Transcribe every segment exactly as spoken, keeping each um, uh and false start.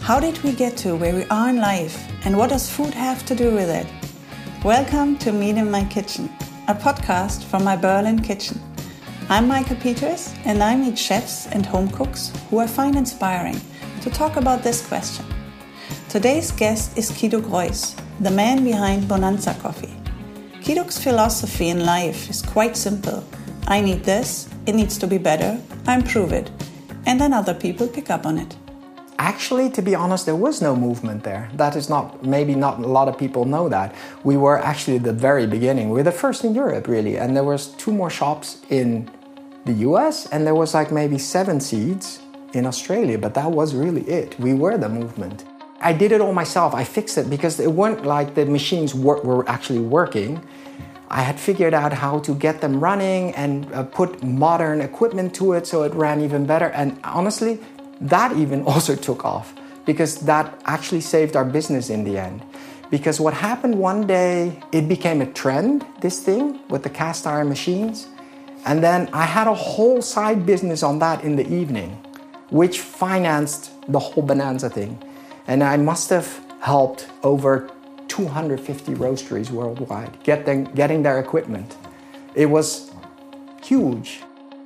How did we get to where we are in life, and what does food have to do with it? Welcome to Meet in My Kitchen, a podcast from my Berlin kitchen. I'm Maike Peters, and I meet chefs and home cooks who I find inspiring to talk about this question. Today's guest is Kiduk Royce, the man behind Bonanza Coffee. Kiduk's philosophy in life is quite simple. I need this, it needs to be better, I improve it, and then other people pick up on it. Actually, to be honest, there was no movement there. That is not, maybe not a lot of people know that. We were actually at the very beginning. We were the first in Europe, really. And there was two more shops in the U S, and there was like maybe seven seeds in Australia, but that was really it. We were the movement. I did it all myself. I fixed it because it weren't like the machines were, were actually working. I had figured out how to get them running and uh, put modern equipment to it so it ran even better. And honestly, that even also took off because that actually saved our business in the end. Because what happened one day, it became a trend, this thing with the cast iron machines. And then I had a whole side business on that in the evening, which financed the whole Bonanza thing. And I must have helped over two hundred fifty roasteries worldwide get them, getting their equipment. It was huge.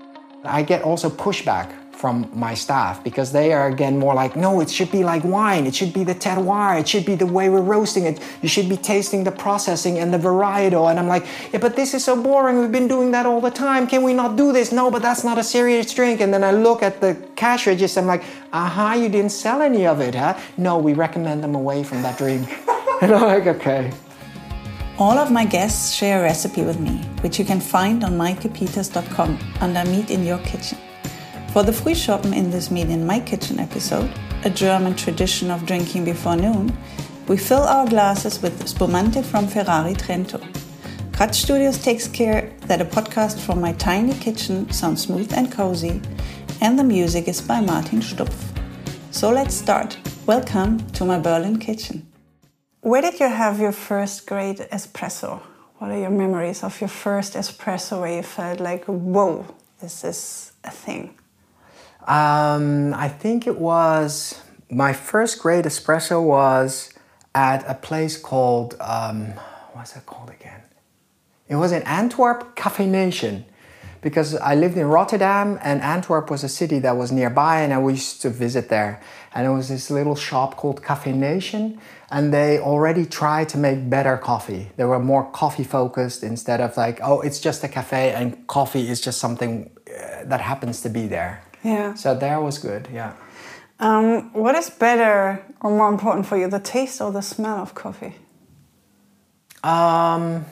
I get also pushback from my staff because they are again more like, no, it should be like wine. It should be the terroir. It should be the way we're roasting it. You should be tasting the processing and the varietal. And I'm like, yeah, but this is so boring. We've been doing that all the time. Can we not do this? No, but that's not a serious drink. And then I look at the cash register. I'm like, aha, you didn't sell any of it, huh? No, we recommend them away from that drink. And I'm like, okay. All of my guests share a recipe with me, which you can find on maike peters dot com under Meet in Your Kitchen. For the Frühschoppen in this Meet in My Kitchen episode, a German tradition of drinking before noon, we fill our glasses with Spumante from Ferrari Trento. Kratz Studios takes care that a podcast from my tiny kitchen sounds smooth and cozy, and the music is by Martin Stupf. So let's start. Welcome to my Berlin kitchen. Where did you have your first great espresso? What are your memories of your first espresso where you felt like, whoa, this is a thing? Um, I think it was, my first great espresso was at a place called, um, what's that called again? It was in Antwerp, Cafe Nation. Because I lived in Rotterdam and Antwerp was a city that was nearby and I used to visit there. And it was this little shop called Cafe Nation and they already tried to make better coffee. They were more coffee focused instead of like, oh, it's just a cafe and coffee is just something uh, that happens to be there. Yeah. So there was good, yeah. Um, what is better or more important for you, the taste or the smell of coffee? Um...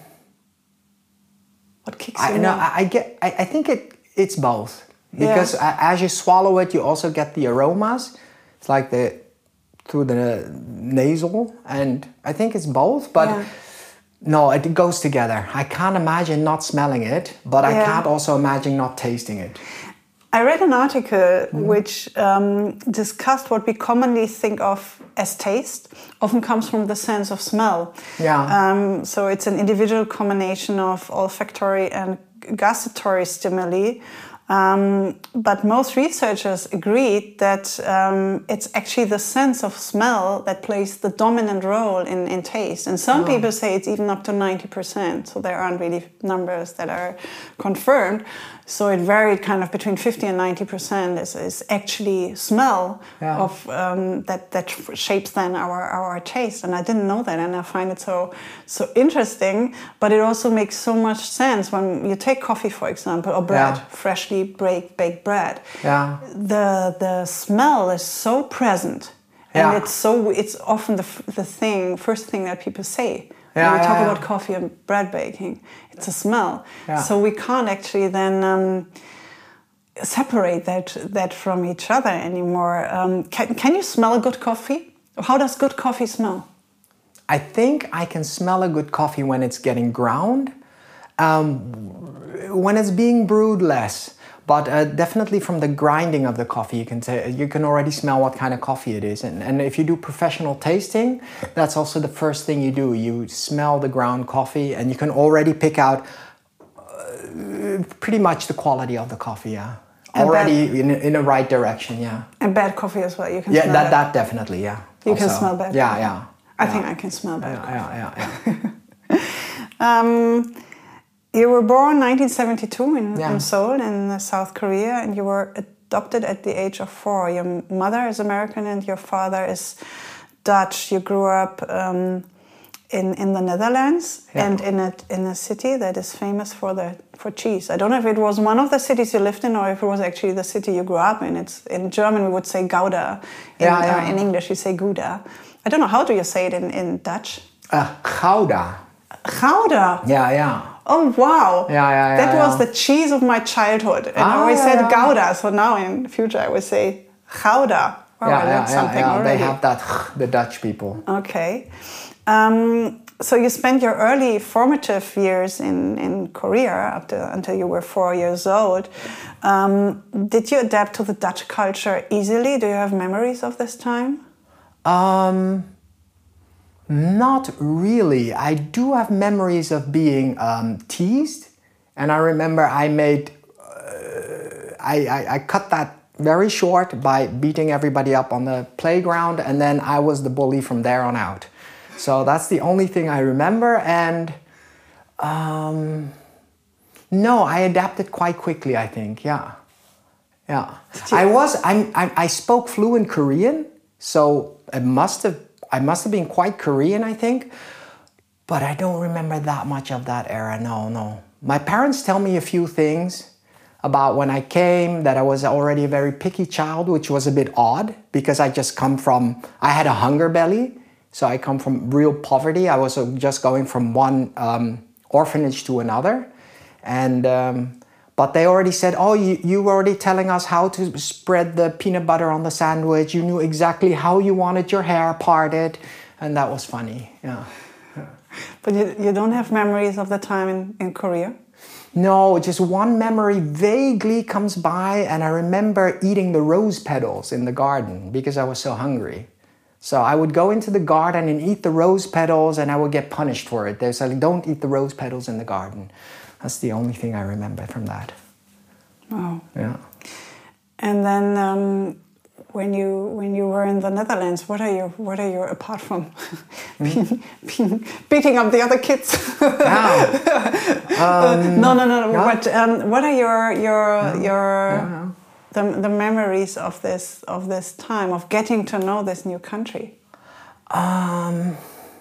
What kicks you I, no, I, I get. I, I think it. It's both because yeah. as you swallow it, you also get the aromas. It's like the through the nasal, and I think it's both. But yeah. no, it goes together. I can't imagine not smelling it, but I yeah. can't also imagine not tasting it. I read an article mm-hmm. which um, discussed what we commonly think of as taste often comes from the sense of smell. Yeah. Um, so it's an individual combination of olfactory and gustatory stimuli. Um, but most researchers agreed that um, it's actually the sense of smell that plays the dominant role in, in taste. And some oh. people say it's even up to ninety percent. So there aren't really numbers that are confirmed. So it varied kind of between fifty and ninety percent is, is actually smell yeah. of um, that that shapes then our, our taste. And I didn't know that, and I find it so so interesting. But it also makes so much sense when you take coffee, for example, or bread, yeah. freshly baked baked bread. Yeah. The the smell is so present, and yeah. it's so it's often the the thing first thing that people say. Yeah, when we talk yeah, yeah. about coffee and bread baking, it's a smell. Yeah. So we can't actually then um, separate that that from each other anymore. Um, can, can you smell a good coffee? How does good coffee smell? I think I can smell a good coffee when it's getting ground. Um, when it's being brewed, less. But uh, definitely from the grinding of the coffee, you can say, you can already smell what kind of coffee it is. And, and if you do professional tasting, that's also the first thing you do. You smell the ground coffee and you can already pick out uh, pretty much the quality of the coffee, yeah. already in in the right direction. Yeah. And bad coffee as well. You can yeah smell that that. that definitely yeah. You also. can smell bad. Yeah, coffee. yeah. I yeah. think I can smell bad. Yeah, coffee. yeah, yeah, yeah. um, you were born nineteen seventy-two in, Yeah. in Seoul in South Korea, and you were adopted at the age of four. Your mother is American and your father is Dutch. You grew up um, in in the Netherlands Yeah. and in a in a city that is famous for the for cheese. I don't know if it was one of the cities you lived in or if it was actually the city you grew up in. It's in German we would say Gouda. In, Yeah, yeah. Uh, in English you say Gouda. I don't know, how do you say it in, in Dutch? Uh, Gouda. Gouda. Yeah, yeah. Oh wow! Yeah, yeah, yeah, That was yeah. the cheese of my childhood, and Ah, I always yeah, said yeah. Gouda. So now in the future I would say Gouda. Wow, yeah, I learned yeah, yeah, something yeah. already. They have that, the Dutch people. Okay. Um, so you spent your early formative years in, in Korea up to, until you were four years old. Um, did you adapt to the Dutch culture easily? Do you have memories of this time? Um, not really. I do have memories of being um, teased, and I remember I made, uh, I, I, I cut that very short by beating everybody up on the playground, and then I was the bully from there on out. So that's the only thing I remember, and um, no, I adapted quite quickly, I think, yeah. Yeah. I was, I'm, I, I spoke fluent Korean, so it must have, I must have been quite Korean, I think, but I don't remember that much of that era, no, no. My parents tell me a few things about when I came, that I was already a very picky child, which was a bit odd, because I just come from, I had a hunger belly, so I come from real poverty. I was just going from one um, orphanage to another, and um, but they already said, oh, you, you were already telling us how to spread the peanut butter on the sandwich. You knew exactly how you wanted your hair parted. And that was funny, yeah. yeah. But you, you don't have memories of the time in, in Korea? No, just one memory vaguely comes by, and I remember eating the rose petals in the garden because I was so hungry. So I would go into the garden and eat the rose petals, and I would get punished for it. They said, like, don't eat the rose petals in the garden. That's the only thing I remember from that. Wow. Yeah. And then um, when you when you were in the Netherlands, what are your what are your apart from being, being, beating up the other kids? Wow. um, no, no, no. no. Yeah. What um, what are your your Yeah. your Yeah. the the memories of this of this time of getting to know this new country? Um.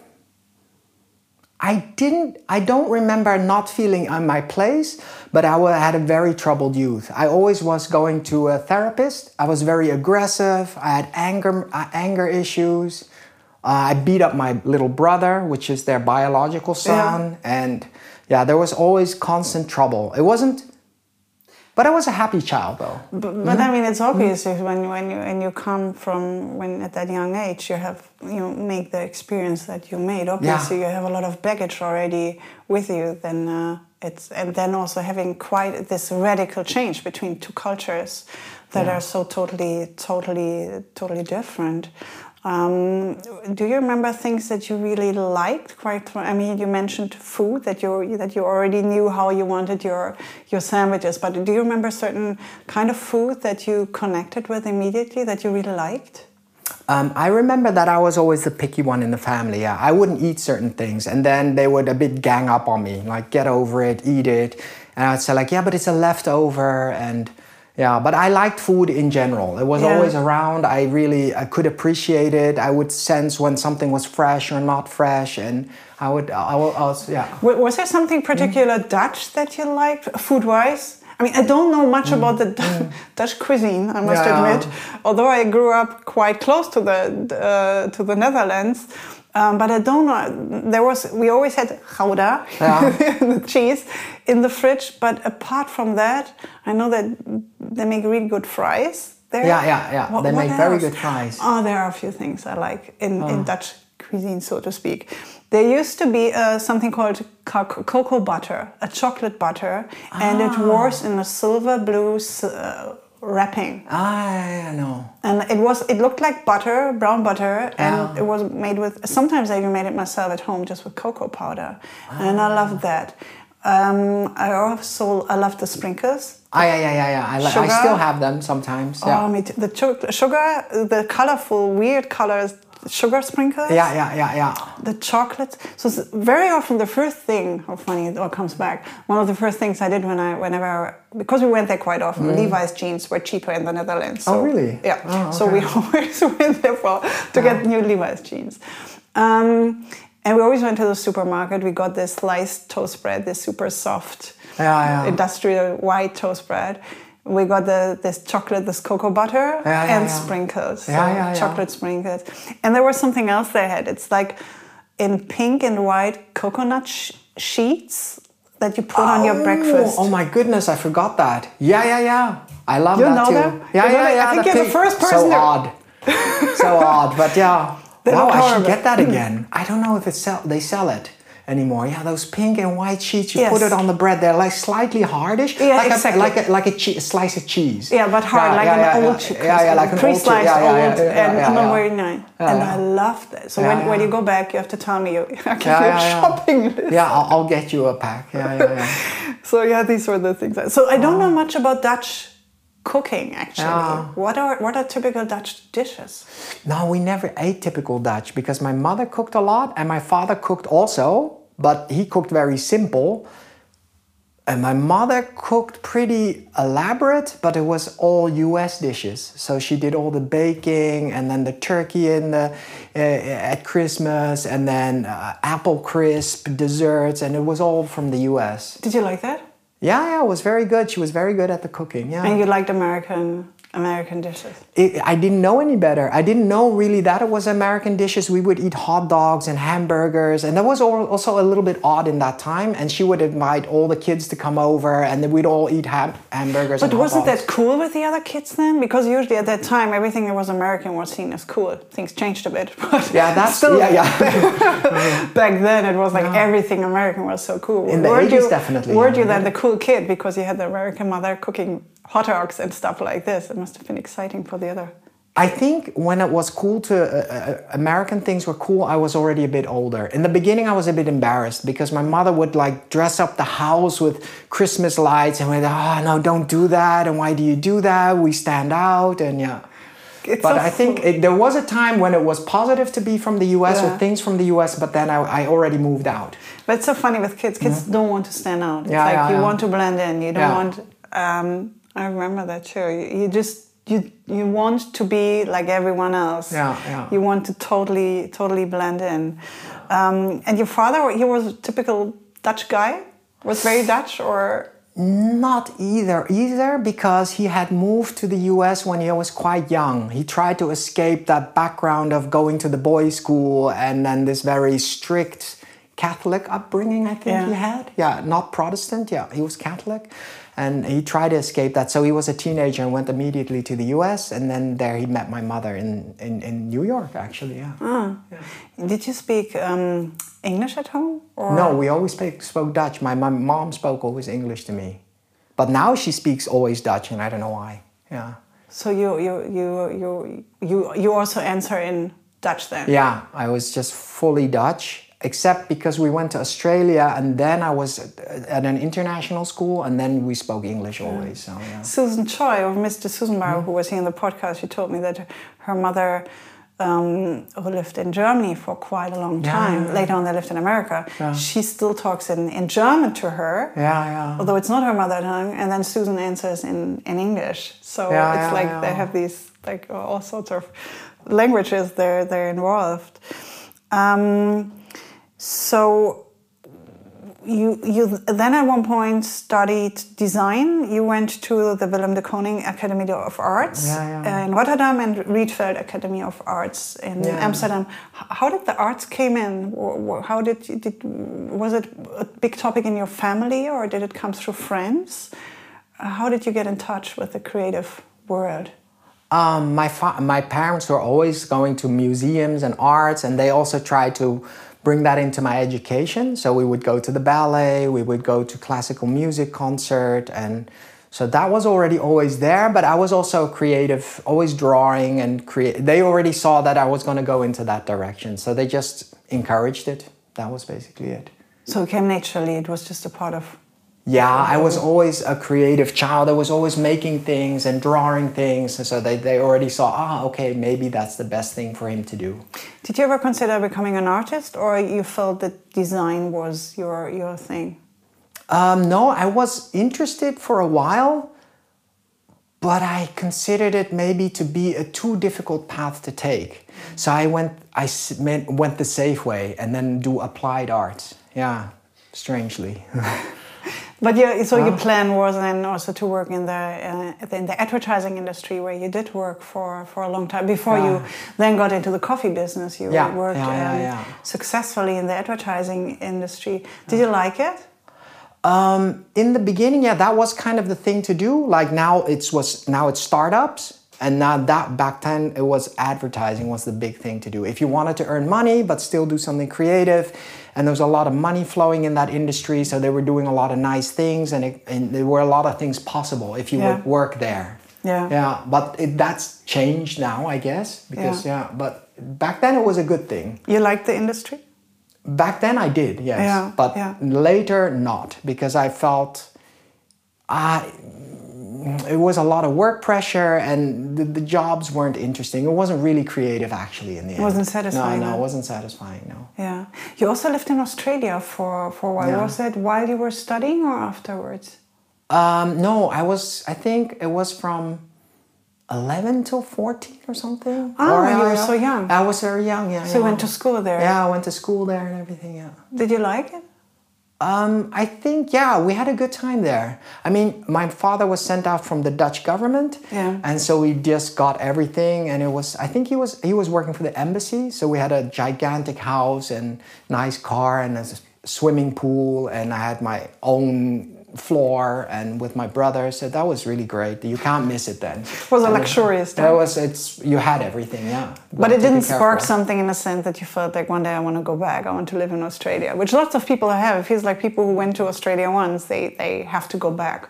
I didn't, I don't remember not feeling in my place, but I had a very troubled youth. I always was going to a therapist. I was very aggressive. I had anger, uh, anger issues. Uh, I beat up my little brother, which is their biological son. Yeah. And yeah, there was always constant trouble. It wasn't, but I was a happy child though. But, but Mm-hmm. I mean, it's obvious mm-hmm. when when you when you come from when at that young age you have you make the experience that you made. Obviously, Yeah. you have a lot of baggage already with you. Then uh, it's and then also having quite this radical change between two cultures that Yeah. are so totally, totally, totally different. Um, do you remember things that you really liked? Quite, I mean, you mentioned food that you that you already knew how you wanted your your sandwiches. But do you remember certain kind of food that you connected with immediately that you really liked? Um, I remember that I was always the picky one in the family. Yeah, I wouldn't eat certain things, and then they would a bit gang up on me, like get over it, eat it, and I'd say like, yeah, but it's a leftover, and. Yeah, but I liked food in general. It was Yeah. always around. I really I could appreciate it. I would sense when something was fresh or not fresh, and I would, I would, I was, yeah. Was there something particular mm. Dutch that you liked, food-wise? I mean, I don't know much mm. about the D- mm. Dutch cuisine, I must yeah. admit. Although I grew up quite close to the uh, to the Netherlands, um, but I don't know. There was we always had gouda, yeah. the cheese, in the fridge. But apart from that, I know that they make really good fries there. Yeah, yeah, yeah. What, they what make else? very good fries. Oh, there are a few things I like in, oh. in Dutch cuisine, so to speak. There used to be uh, something called co- cocoa butter, a chocolate butter, ah. and it was in a silver blue uh, wrapping. I know. And it was it looked like butter, brown butter, and oh. it was made with. Sometimes I even made it myself at home, just with cocoa powder, ah. and I loved that. Um, I also I love the sprinkles. Ah, yeah, yeah, yeah, yeah. I, li- I still have them sometimes. Yeah. Oh, me too. The cho- sugar, the colorful, weird colors, sugar sprinkles. Yeah, yeah, yeah, yeah. The chocolate. So it's very often the first thing, how funny it all comes back. One of the first things I did when I, whenever, because we went there quite often, mm. Levi's jeans were cheaper in the Netherlands. So, oh, really? Yeah. Oh, okay. So we always went there for to yeah. get new Levi's jeans. Um, and we always went to the supermarket. We got this sliced toast bread, this super soft, yeah, yeah. industrial white toast bread. We got the this chocolate, this cocoa butter, yeah, yeah, and yeah. sprinkles. So yeah, yeah, chocolate yeah. sprinkles. And there was something else they had. It's like in pink and white coconut sh- sheets that you put oh, on your breakfast. Oh my goodness, I forgot that. Yeah, yeah, yeah. I love you that know too. Them? Yeah, you yeah, know yeah. I think the you're pink. the first person. So to... odd. So odd, but yeah. They wow, I should horrible. get that again. I don't know if it's sell- they sell it anymore. Yeah, those pink and white sheets, you yes. put it on the bread. They're like slightly hardish. Yeah, like exactly. A, like a, like a, che- a slice of cheese. Yeah, but hard, yeah, like yeah, an yeah, old yeah. cheese. Yeah, yeah, like an pre-sliced old, yeah, yeah, yeah, old, yeah, yeah, and yeah, not yeah. very nice. Yeah, and yeah. I love that. So yeah, when, yeah. when you go back, you have to tell me. You, I give yeah, you yeah, a yeah. shopping list. Yeah, I'll, I'll get you a pack. Yeah, yeah, yeah. So yeah, these were the things. I, so I don't oh. know much about Dutch cooking, actually. Yeah. What are what are typical Dutch dishes? No, we never ate typical Dutch because my mother cooked a lot and my father cooked also, but he cooked very simple. And my mother cooked pretty elaborate, but it was all U S dishes. So she did all the baking and then the turkey in the uh, at Christmas and then uh, apple crisp desserts, and it was all from the U S. Did you like that? Yeah, yeah, it was very good. She was very good at the cooking. Yeah. And you liked American American dishes? It, I didn't know any better. I didn't know really that it was American dishes. We would eat hot dogs and hamburgers, and that was also a little bit odd in that time. And she would invite all the kids to come over, and then we'd all eat ham- hamburgers. But and wasn't hot dogs. that cool with the other kids then? Because usually at that time, everything that was American was seen as cool. Things changed a bit, but yeah, that's still yeah, yeah. back then it was like yeah. everything American was so cool. In the weren't eighties, you, definitely. Weren't yeah. you then the cool kid because you had the American mother cooking hot dogs and stuff like this? It must have been exciting for the other. I think when it was cool to, uh, uh, American things were cool, I was already a bit older. In the beginning, I was a bit embarrassed because my mother would like dress up the house with Christmas lights and we'd, oh no, don't do that. And why do you do that? We stand out and yeah. It's but so I think it, there was a time when it was positive to be from the U S yeah. or things from the U S, but then I, I already moved out. But it's so funny with kids. Kids yeah. don't want to stand out. It's yeah, like yeah, you yeah. want to blend in. You don't yeah. want... Um, I remember that too. You, you just... You you want to be like everyone else. Yeah, yeah. You want to totally totally blend in. Um, and your father, he was a typical Dutch guy? Was very Dutch or... Not either, either because he had moved to the U S when he was quite young. He tried to escape that background of going to the boys' school and then this very strict Catholic upbringing, I think yeah. he had. Yeah, not Protestant, yeah, he was Catholic. And he tried to escape that. So he was a teenager and went immediately to the U S. And then there he met my mother in, in, in New York, actually, yeah. Ah. yeah. Did you speak um, English at home? Or? No, we always speak, spoke Dutch. My, my mom spoke always English to me. But now she speaks always Dutch, and I don't know why, yeah. So you you you you you, you also answer in Dutch then? Yeah, I was just fully Dutch. Except because we went to Australia and then I was at an international school and then we spoke English always. So, yeah. Susan Choi, or Mister Susan Bauer, mm-hmm. who was here in the podcast, she told me that her mother, um, who lived in Germany for quite a long time, yeah. later on they lived in America, yeah. she still talks in, in German to her, yeah, yeah. although it's not her mother tongue, and then Susan answers in, in English. So yeah, it's yeah, like yeah. they have these like all sorts of languages they're, they're involved. Um, So you you then at one point studied design. You went to the Willem de Kooning Academy of Arts yeah, yeah. in Rotterdam and Rietveld Academy of Arts in yeah. Amsterdam. How did the arts came in? How did, you, did was it a big topic in your family or did it come through friends? How did you get in touch with the creative world? Um, my fa- my parents were always going to museums and arts, and they also tried to bring that into my education. So we would go to the ballet, we would go to classical music concert, and so that was already always there. But I was also creative, always drawing and create. They already saw that I was going to go into that direction, so they just encouraged it. That was basically it. So it came naturally. It was just a part of... Yeah, I was always a creative child. I was always making things and drawing things. And so they, they already saw, ah, okay, maybe that's the best thing for him to do. Did you ever consider becoming an artist, or you felt that design was your, your thing? Um, no, I was interested for a while, but I considered it maybe to be a too difficult path to take. So I went, I went the safe way and then do applied arts. Yeah, strangely. But yeah, so your plan was then also to work in the uh, in the advertising industry, where you did work for, for a long time before yeah. you then got into the coffee business. You yeah. worked yeah, yeah, um, yeah. successfully in the advertising industry. Did you like it? Um, in the beginning, yeah, that was kind of the thing to do. Like now, it was now it's startups, and now that back then it was advertising was the big thing to do. If you wanted to earn money but still do something creative. And there was a lot of money flowing in that industry, so they were doing a lot of nice things, and, it, and there were a lot of things possible if you yeah. would work there. Yeah. Yeah. But it, that's changed now, I guess, because yeah. yeah. But back then it was a good thing. You liked the industry? Back then I did, yes. Yeah. But yeah. later not, because I felt I. It was a lot of work pressure, and the, the jobs weren't interesting. It wasn't really creative, actually, in the end. It wasn't satisfying. No, no, it wasn't satisfying, no. Yeah. You also lived in Australia for, for a while. Yeah. Was that while you were studying or afterwards? Um, no, I was, I think it was from eleven till fourteen or something. Oh, or, you uh, were so young. I was very young, yeah. So yeah. you went to school there? Yeah, I went to school there and everything, yeah. Did you like it? Um, I think, yeah, we had a good time there. I mean, my father was sent out from the Dutch government. Yeah. And so we just got everything. And it was, I think he was, he was working for the embassy. So we had a gigantic house and nice car and a swimming pool. And I had my own floor and with my brother. So that was really great. You can't miss it then. It was a luxurious time. That was, it's, you had everything, yeah. But it didn't spark something in the sense that you felt like one day I want to go back, I want to live in Australia, which lots of people have. It feels like people who went to Australia once, they, they have to go back.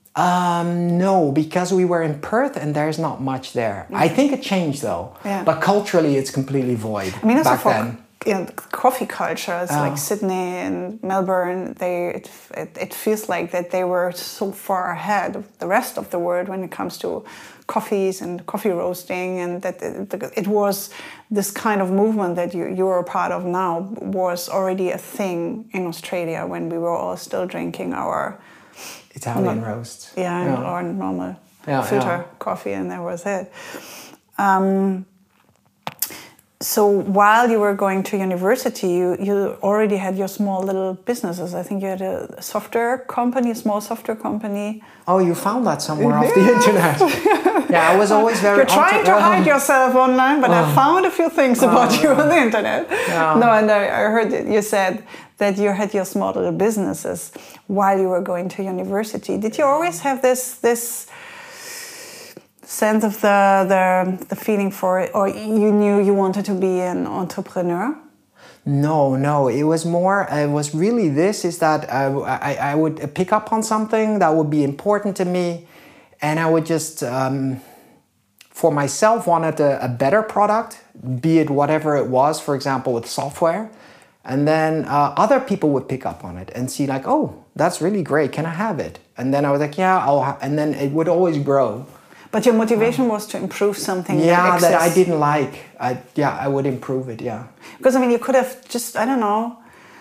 Um, no, because we were in Perth and there's not much there. Mm-hmm. I think it changed though. Yeah. But culturally it's completely void. I mean, also back for then. You know, coffee culture, it's oh. like Sydney and Melbourne, they it, it, it feels like that they were so far ahead of the rest of the world when it comes to coffees and coffee roasting, and that it, it was this kind of movement that you, you are a part of now was already a thing in Australia when we were all still drinking our Italian no, roasts. Yeah, yeah, or normal yeah, filter yeah. coffee, and that was it. Um, So while you were going to university, you, you already had your small little businesses. I think you had a software company, a small software company. Oh, you found that somewhere yeah. off the internet. Yeah, I was always very... You're trying to hide yourself online, but oh. I found a few things about oh, you on the internet. Yeah. No, and I, I heard that you said that you had your small little businesses while you were going to university. Did you always have this... this sense of the, the the feeling for it, or you knew you wanted to be an entrepreneur? No, no. It was more. It was really this: is that I, I, I would pick up on something that would be important to me, and I would just, um, for myself, wanted a, a better product, be it whatever it was. For example, with software, and then uh, other people would pick up on it and see like, oh, that's really great. Can I have it? And then I was like, yeah, I'll. Ha-. And then it would always grow. But your motivation was to improve something. Yeah, that, that I didn't like. I, yeah, I would improve it, yeah. Because, I mean, you could have just, I don't know,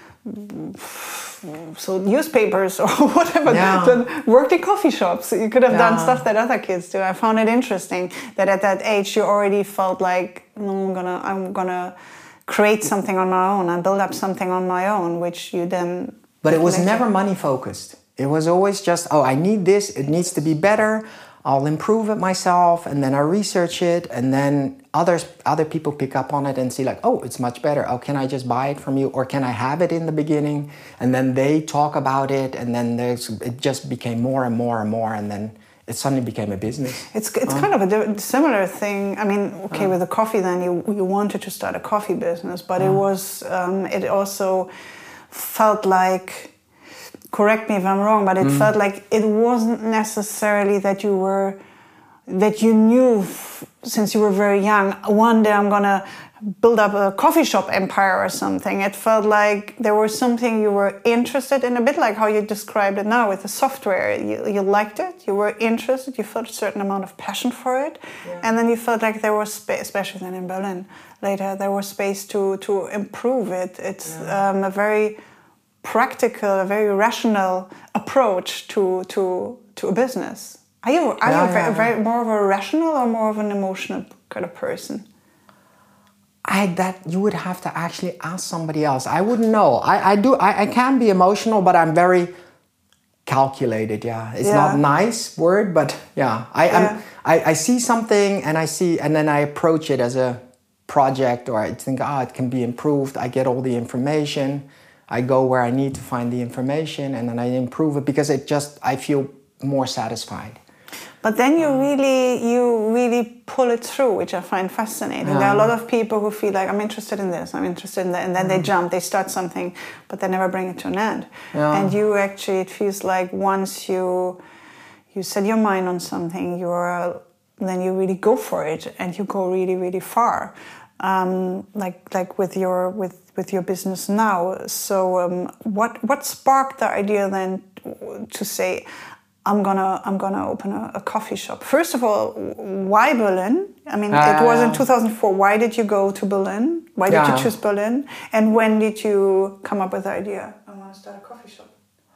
so newspapers or whatever, yeah. done, worked in coffee shops. You could have yeah. done stuff that other kids do. I found it interesting that at that age you already felt like, no, I'm gonna, I'm gonna create something on my own and build up something on my own, which you then... But it was never money focused. It was always just, oh, I need this, it needs to be better. I'll improve it myself, and then I research it, and then others, other people pick up on it and see like, oh, it's much better. Oh, can I just buy it from you, or can I have it in the beginning? And then they talk about it, and then there's, it just became more and more and more, and then it suddenly became a business. It's it's uh. kind of a similar thing. I mean, okay, uh. with the coffee, then you you wanted to start a coffee business, but uh. it was um, it also felt like. Correct me if I'm wrong, but it mm. felt like it wasn't necessarily that you were, that you knew f- since you were very young, one day I'm gonna build up a coffee shop empire or something. It felt like there was something you were interested in, a bit like how you described it now with the software. You, you liked it, you were interested, you felt a certain amount of passion for it, yeah. and then you felt like there was space, especially then in Berlin later, there was space to, to improve it. It's yeah. um, a very practical, a very rational approach to to, to a business. Are you, are yeah, you very, yeah, very, yeah. more of a rational or more of an emotional kind of person? I that you would have to actually ask somebody else. I wouldn't know. I, I do. I, I can be emotional, but I'm very calculated. Yeah, it's yeah. not nice word, but yeah, I yeah. I'm, I I see something and I see, and then I approach it as a project, or I think, ah, oh, it can be improved. I get all the information. I go where I need to find the information, and then I improve it because it just I feel more satisfied. But then you really, you really pull it through, which I find fascinating. Yeah. There are a lot of people who feel like, I'm interested in this, I'm interested in that, and then mm. they jump, they start something, but they never bring it to an end. Yeah. And you actually, it feels like once you you set your mind on something, you're then you really go for it, and you go really, really far. Um, like like with your with with your business now. So um, what what sparked the idea then to say, I'm gonna I'm gonna open a, a coffee shop? First of all, why Berlin? I mean, uh, it was in two thousand four. Why did you go to Berlin? Why did yeah. you choose Berlin? And when did you come up with the idea? I want to start a coffee shop.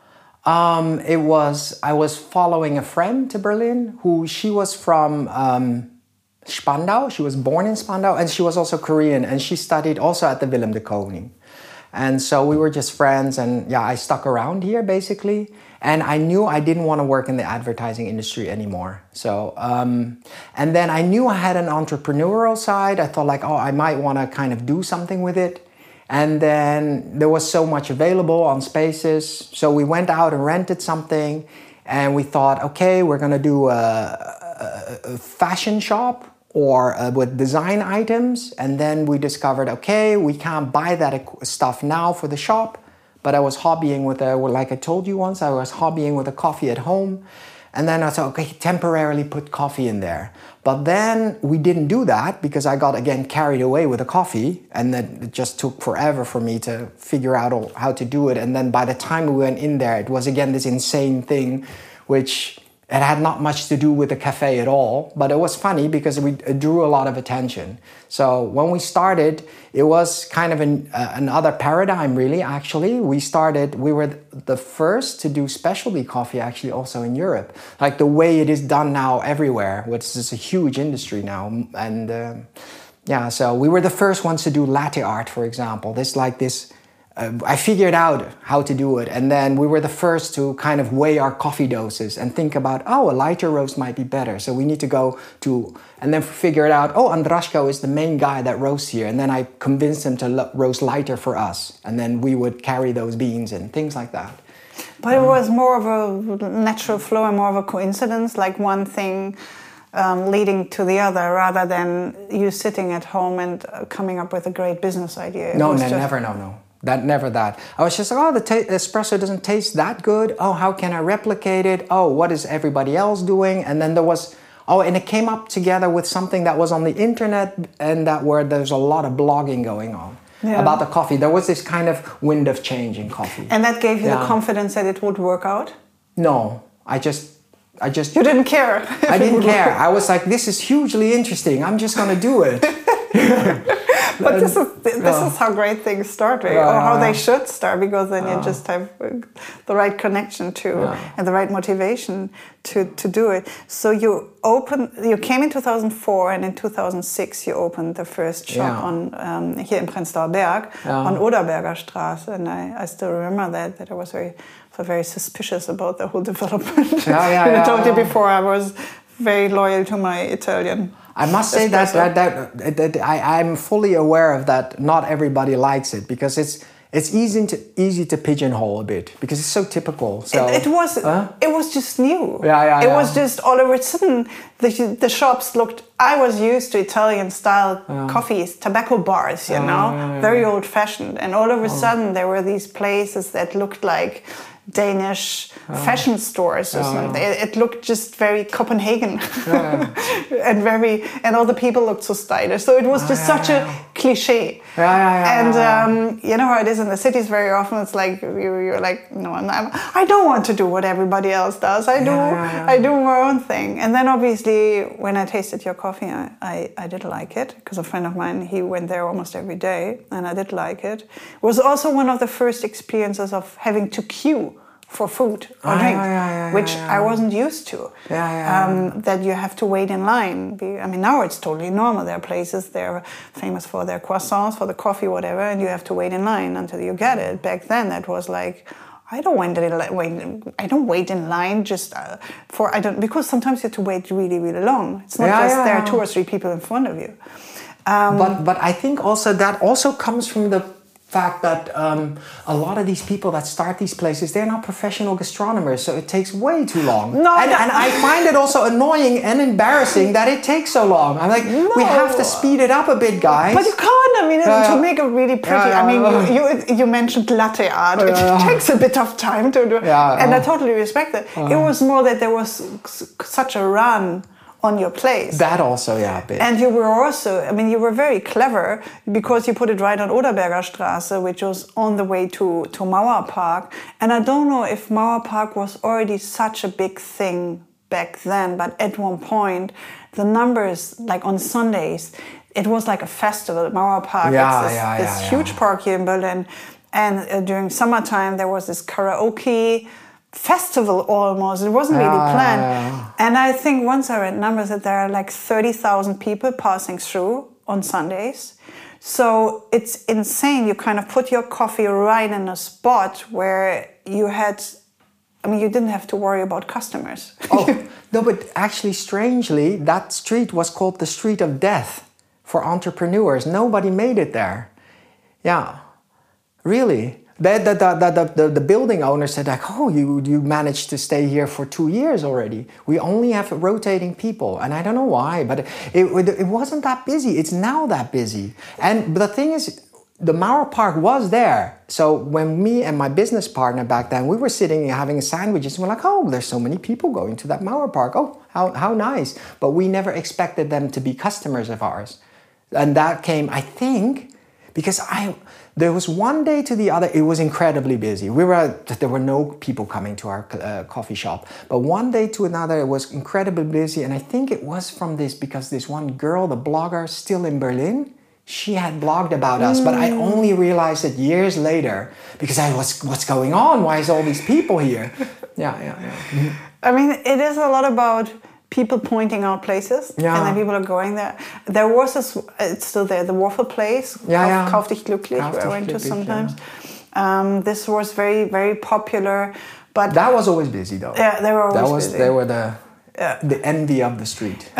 Um, it was I was following a friend to Berlin who she was from um, Spandau. She was born in Spandau, and she was also Korean, and she studied also at the Willem de Kooning. And so we were just friends, and yeah, I stuck around here basically. And I knew I didn't want to work in the advertising industry anymore. So, um, and then I knew I had an entrepreneurial side. I thought like, oh, I might want to kind of do something with it. And then there was so much available on Spaces. So we went out and rented something, and we thought, okay, we're going to do a, a, a fashion shop or uh, with design items. And then we discovered, okay, we can't buy that stuff now for the shop. But I was hobbying with a, like I told you once, I was hobbying with a coffee at home. And then I thought, okay, temporarily put coffee in there. But then we didn't do that because I got, again, carried away with the coffee. And then it just took forever for me to figure out all, how to do it. And then by the time we went in there, it was, again, this insane thing, which it had not much to do with the cafe at all. But it was funny because we, it drew a lot of attention. So when we started, it was kind of an, uh, another paradigm, really, actually. We started, we were the first to do specialty coffee, actually, also in Europe. Like the way it is done now everywhere, which is a huge industry now. And uh, yeah, so we were the first ones to do latte art, for example. This like this, uh, I figured out how to do it. And then we were the first to kind of weigh our coffee doses and think about, oh, a lighter roast might be better. So we need to go to, and then figure it out, oh, Andraško is the main guy that roasts here. And then I convinced him to lo- roast lighter for us. And then we would carry those beans and things like that. But um, it was more of a natural flow and more of a coincidence, like one thing um, leading to the other, rather than you sitting at home and uh, coming up with a great business idea. It no, no, just... never, no, no. That never that. I was just like, oh, the ta- espresso doesn't taste that good. Oh, how can I replicate it? Oh, what is everybody else doing? And then there was, oh, and it came up together with something that was on the internet, and that where there's a lot of blogging going on yeah. about the coffee. There was this kind of wind of change in coffee. And that gave you yeah. the confidence that it would work out? No, I just, I just. You didn't care. I didn't care. I was like, this is hugely interesting. I'm just going to do it. But this is this yeah. is how great things start, right? Yeah, or how yeah. they should start, because then yeah. you just have the right connection to yeah. and the right motivation to, to do it. So you opened, you came in two thousand four, and in two thousand six you opened the first shop yeah. on um, here in Prenzlauer Berg yeah. on Oderberger Straße, and I, I still remember that that I was very very suspicious about the whole development. Yeah, yeah, I yeah, told yeah. you before, I was very loyal to my Italian. I must say that, that, that, that I, I'm fully aware of that. Not everybody likes it because it's it's easy to easy to pigeonhole a bit because it's so typical. So it, it was huh? it was just new. Yeah, yeah, It yeah. was just all of a sudden the the shops looked. I was used to Italian style yeah. coffees, tobacco bars, you yeah, know, yeah, yeah. very old fashioned, and all of a oh. sudden there were these places that looked like Danish oh. fashion stores or oh, something. yeah. It, it looked just very Copenhagen, yeah. and very, and all the people looked so stylish. So it was just oh, such yeah, a cliche. Yeah, yeah, yeah. And yeah, um, you know how it is in the cities. Very often, it's like you, you're like, no, I'm, I don't want to do what everybody else does. I do, Yeah, yeah, yeah. I do my own thing. And then obviously, when I tasted your coffee, I, I, I did like it because a friend of mine, he went there almost every day, and I did like it. It was also one of the first experiences of having to queue for food or Ah, drink, yeah, yeah, yeah, which yeah, yeah. I wasn't used to. Yeah, yeah, um, that you have to wait in line. Be- I mean, now it's totally normal. There are places they're famous for their croissants, for the coffee, whatever, and you have to wait in line until you get it. Back then, that was like, I don't wait in li- wait. I don't wait in line just uh, for I don't because sometimes you have to wait really, really long. It's not Yeah, just yeah, there yeah. are two or three people in front of you. Um, But but I think also that also comes from the fact that um, a lot of these people that start these places, they're not professional gastronomers, so it takes way too long. No, and, no. and I find it also annoying and embarrassing that it takes so long. I'm like, No. we have to speed it up a bit, guys. But you can't. I mean, Yeah, to yeah. make it really pretty. Yeah, I mean, yeah. you, you you mentioned latte art. It Yeah. takes a bit of time to do. Yeah, and I uh. totally respect it. It was more that there was s- such a run on your place. That also, yeah, a bit. And you were also, I mean, you were very clever because you put it right on Oderberger Straße, which was on the way to, to Mauer Park. And I don't know if Mauer Park was already such a big thing back then, but at one point, the numbers, like on Sundays, it was like a festival at Mauer Park. Yeah, it's this, yeah, this yeah, huge yeah. park here in Berlin. And uh, during summertime, there was this karaoke festival almost. It wasn't really Yeah, planned. yeah, yeah. And I think once I read numbers that there are like thirty thousand people passing through on Sundays. So it's insane. You kind of put your coffee right in a spot where you had, I mean, you didn't have to worry about customers. Oh, no, but actually, strangely, that street was called the Street of Death for entrepreneurs. Nobody made it there. Yeah, really. The, the, the, the, the, the building owner said, like, oh, you, you managed to stay here for two years already. We only have rotating people. And I don't know why, but it, it, it wasn't that busy. It's now that busy. And the thing is, the Mauer Park was there. So when me and my business partner back then, we were sitting and having sandwiches, and we're like, oh, there's so many people going to that Mauer Park. Oh, how, how nice. But we never expected them to be customers of ours. And that came, I think, because I... There was one day to the other, it was incredibly busy. We were, there were no people coming to our uh, coffee shop. But one day to another, it was incredibly busy. And I think it was from this, because this one girl, the blogger, still in Berlin, she had blogged about us. Mm. But I only realized it years later, because I was, what's going on? Why is all these people here? Yeah, yeah, yeah. I mean, it is a lot about people pointing out places, yeah. and then people are going there. There was this, it's still there, the waffle place, yeah, Kauf, yeah. Kauf dich glücklich, Kauf where I dich went to glücklich, sometimes. Yeah. Um, this was very, very popular, but that was always busy though. Yeah, they were always that was, busy. They were the yeah. the envy of the street.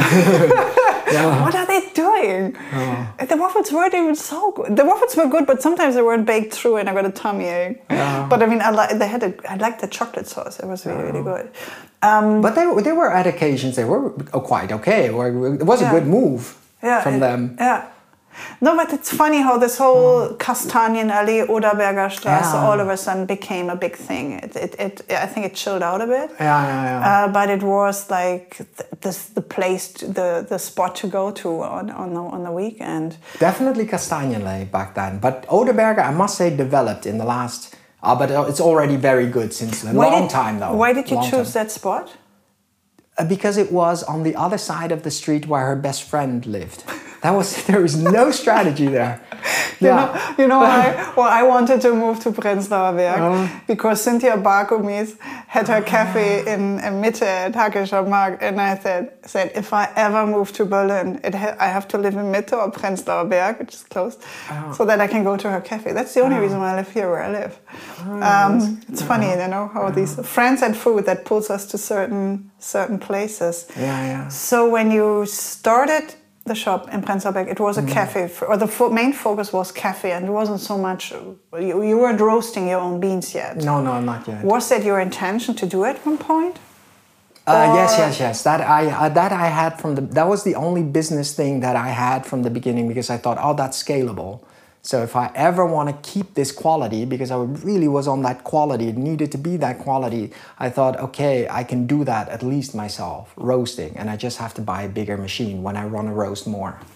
Yeah. What are they doing? Oh. The waffles weren't even so good. The waffles were good, but sometimes they weren't baked through, and I got a tummy ache. Yeah. But I mean, I like they had a, I liked the chocolate sauce. It was really, yeah. really good. Um, but they they were at occasions they were quite okay. It was a yeah. good move yeah, from it, them. Yeah. No, but it's funny how this whole mm. Kastanienallee, Oderberger Straße, yeah. all of a sudden became a big thing. It, it, it, I think it chilled out a bit. Yeah, yeah, yeah. Uh, but it was like th- this, the place, to, the the spot to go to on on the, on the weekend. Definitely Kastanienallee back then. But Oderberger, I must say, developed in the last. Uh, but it's already very good since a why long did, time though. Why did you long choose time. that spot? Uh, because it was on the other side of the street where her best friend lived. That was there was no strategy there. You Yeah. know, you know why? Well, I wanted to move to Prenzlauer Berg uh, because Cynthia Barkomis had her cafe in, in Mitte at Hackischer Markt, and I said, said if I ever move to Berlin, it ha- I have to live in Mitte or Prenzlauer Berg, which is close, oh. so that I can go to her cafe. That's the only oh. reason why I live here where I live. Oh, um, it's funny, you know, how oh. these friends and food that pulls us to certain certain places. Yeah, yeah. So when you started the shop in Prenzlauer Berg, it was a mm. cafe, for, or the fo- main focus was cafe, and it wasn't so much, you, you weren't roasting your own beans yet. No, no, not yet. Was that your intention to do at one point? Uh, yes, yes, yes. That I uh, that I had from the, that was the only business thing that I had from the beginning, because I thought, oh, that's scalable. So if I ever want to keep this quality, because I really was on that quality, it needed to be that quality, I thought, okay, I can do that at least myself, roasting, and I just have to buy a bigger machine when I want to roast more.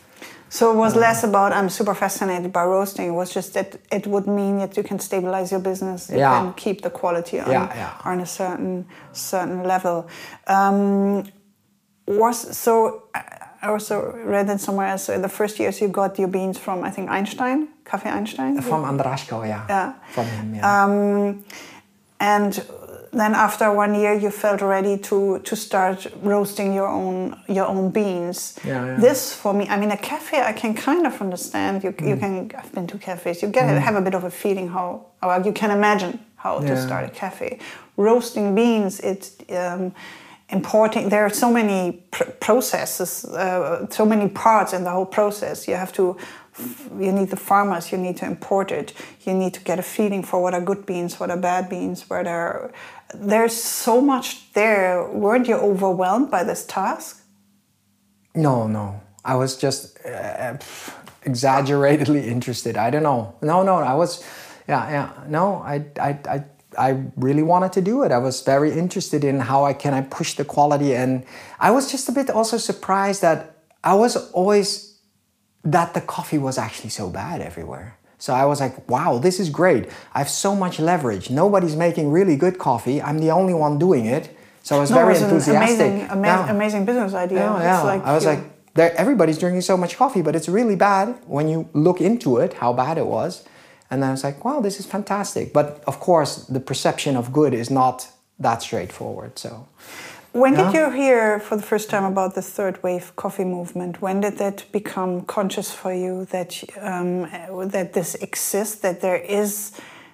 So it was uh, less about I'm super fascinated by roasting. It was just that it would mean that you can stabilize your business. You yeah. can keep the quality on, yeah, yeah. on a certain certain level. Um, was so. I also read it somewhere else. So in the first years, you got your beans from I think Einstein, Café Einstein. From Andraško, yeah. Yeah. From him, yeah. Um, and then after one year, you felt ready to to start roasting your own your own beans. Yeah, yeah. This for me, I mean, a cafe I can kind of understand. You mm. you can. I've been to cafes. You get mm. have a bit of a feeling how, well, you can imagine how yeah. to start a cafe. Roasting beans, it's um, importing. There are so many pr- processes, uh, so many parts in the whole process. You have to. You need the farmers, you need to import it, you need to get a feeling for what are good beans, what are bad beans, where there there's so much there. Weren't you overwhelmed by this task? No, no. I was just uh, exaggeratedly interested. I don't know. No, no, I was, yeah, yeah. No, I, I, I, I really wanted to do it. I was very interested in how I can I push the quality, and I was just a bit also surprised that I was always that the coffee was actually so bad everywhere. So I was like, wow, this is great. I have so much leverage. Nobody's making really good coffee. I'm the only one doing it. So I was no, very it was enthusiastic. An amazing, ama- yeah. amazing business idea. Yeah, yeah. Like I was you... like, everybody's drinking so much coffee, but it's really bad when you look into it, how bad it was. And then I was like, wow, this is fantastic. But of course, the perception of good is not that straightforward. So. When yeah. did you hear for the first time about the third wave coffee movement? When did that become conscious for you that um, that this exists? That there is?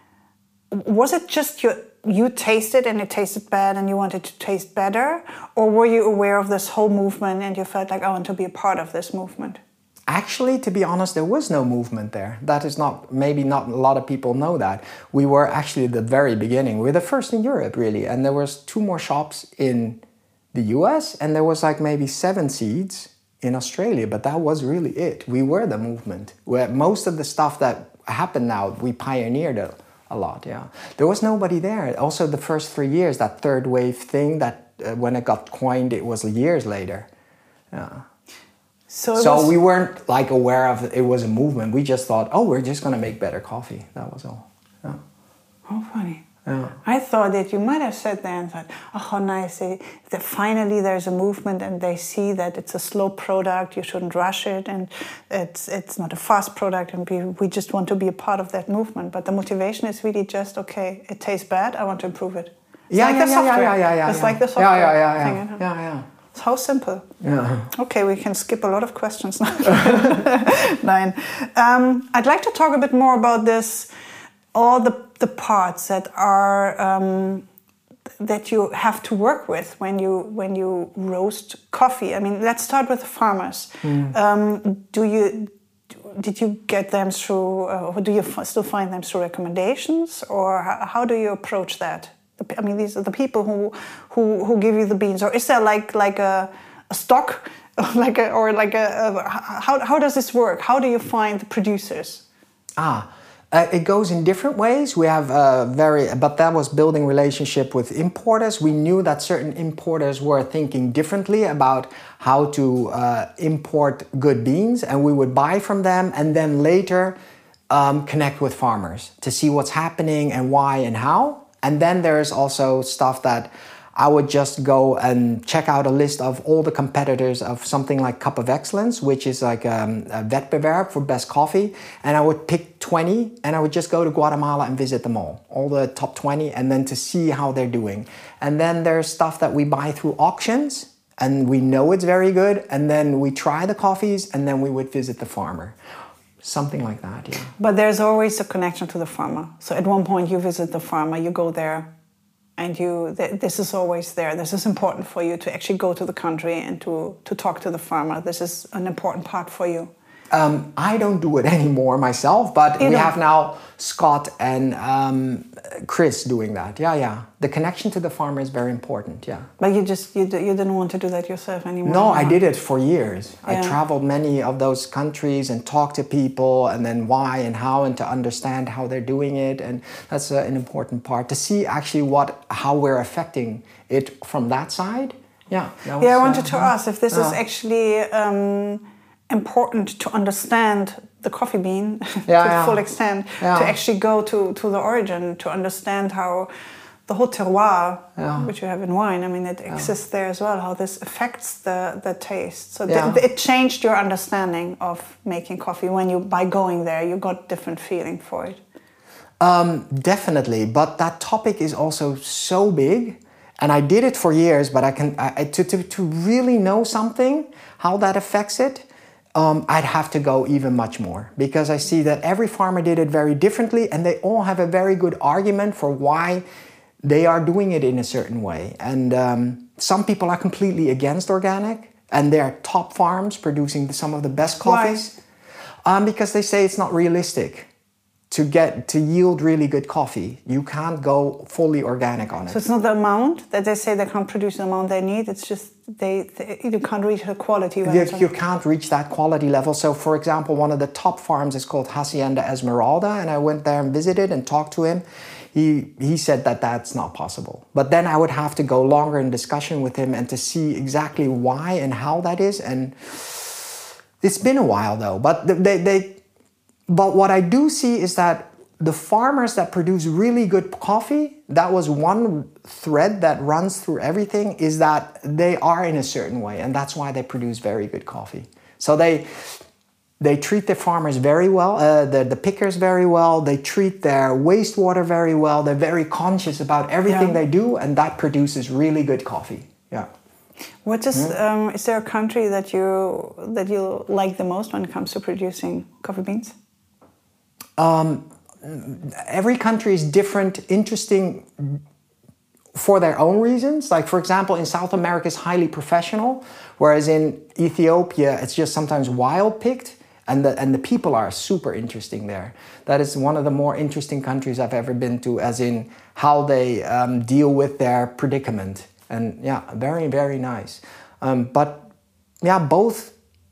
Was it just you? You tasted and it tasted bad, and you wanted to taste better, or were you aware of this whole movement and you felt like I want to be a part of this movement? Actually, to be honest, there was no movement there. That is not, maybe not a lot of people know that. We were actually at the very beginning. We were the first in Europe, really, and there was two more shops in the U S, and there was like maybe seven seeds in Australia, but that was really it. We were the movement. Where most of the stuff that happened now, we pioneered a, a lot, yeah. There was nobody there. Also, the first three years, that third wave thing, that uh, when it got coined, it was years later. Yeah. So, so was... we weren't like aware of it was a movement. We just thought, oh, we're just going to make better coffee. That was all. Yeah. How funny. Yeah. I thought that you might have sat there and thought, oh, how nice, that finally there's a movement and they see that it's a slow product, you shouldn't rush it, and it's it's not a fast product, and we, we just want to be a part of that movement. But the motivation is really just, okay, it tastes bad, I want to improve it. It's yeah, like yeah, the yeah, software. Yeah, yeah, yeah, it's yeah. like the software yeah, yeah, yeah, thing. Yeah, yeah, yeah. It's how simple. Yeah. Okay, we can skip a lot of questions now. Nine. Um, I'd like to talk a bit more about this, all the the parts that are um, that you have to work with when you when you roast coffee. I mean, let's start with the farmers. Mm. Um, do you did you get them through? Uh, or do you f- still find them through recommendations, or how, how do you approach that? I mean, these are the people who who, who give you the beans, or is there like like a, a stock, like a, or like a, a how how does this work? How do you find the producers? Ah. Uh, it goes in different ways. We have a very, but that was building relationship with importers. We knew that certain importers were thinking differently about how to uh, import good beans, and we would buy from them, and then later um, connect with farmers to see what's happening and why and how. And then there's also stuff that I would just go and check out a list of all the competitors of something like Cup of Excellence, which is like um, a Wettbewerb for best coffee. And I would pick twenty, and I would just go to Guatemala and visit them all, all the top twenty, and then to see how they're doing. And then there's stuff that we buy through auctions, and we know it's very good. And then we try the coffees, and then we would visit the farmer. Something like that, yeah. But there's always a connection to the farmer. So at one point you visit the farmer, you go there, and you th- this is always there. This is important for you to actually go to the country and to, to talk to the farmer. This is an important part for you. Um, I don't do it anymore myself, but you we don't. have now Scott and um, Chris doing that. Yeah, yeah. The connection to the farmer is very important, yeah. But you just, you, you didn't want to do that yourself anymore? No, I did it for years. Yeah. I traveled many of those countries and talked to people, and then why and how, and to understand how they're doing it. And that's uh, an important part, to see actually what, how we're affecting it from that side. Yeah. That was, yeah, I wanted uh, to ask if this uh, is actually... Um, important to understand the coffee bean yeah, to yeah. the full extent, yeah. to actually go to, to the origin, to understand how the whole terroir, yeah. which you have in wine, I mean, it yeah. exists there as well, how this affects the, the taste. So yeah. th- it changed your understanding of making coffee when you, by going there, you got different feeling for it. Um, definitely, but that topic is also so big, and I did it for years, but I can, I, to, to, to really know something, how that affects it, Um, I'd have to go even much more, because I see that every farmer did it very differently, and they all have a very good argument for why they are doing it in a certain way. And um, some people are completely against organic, and they're top farms producing some of the best coffees. Um, because they say it's not realistic to get to yield really good coffee. You can't go fully organic on it. So it's not the amount that they say they can't produce the amount they need. It's just they, they you can't reach the quality. You, you can't reach that quality level. So, for example, one of the top farms is called Hacienda Esmeralda, and I went there and visited and talked to him. He he said that that's not possible. But then I would have to go longer in discussion with him and to see exactly why and how that is. And it's been a while though. But they they. But what I do see is that the farmers that produce really good coffee, that was one thread that runs through everything, is that they are in a certain way, and that's why they produce very good coffee. So they they treat their farmers very well, uh, the, the pickers very well, they treat their wastewater very well, they're very conscious about everything yeah. they do, and that produces really good coffee. Yeah. What is, mm-hmm. um, is there a country that you that you like the most when it comes to producing coffee beans? Um, every country is different, interesting for their own reasons. Like, for example, in South America is highly professional, whereas in Ethiopia it's just sometimes wild picked, and the and the people are super interesting there. That is one of the more interesting countries I've ever been to, as in how they um, deal with their predicament. And yeah, very, very nice. Um, but yeah, both.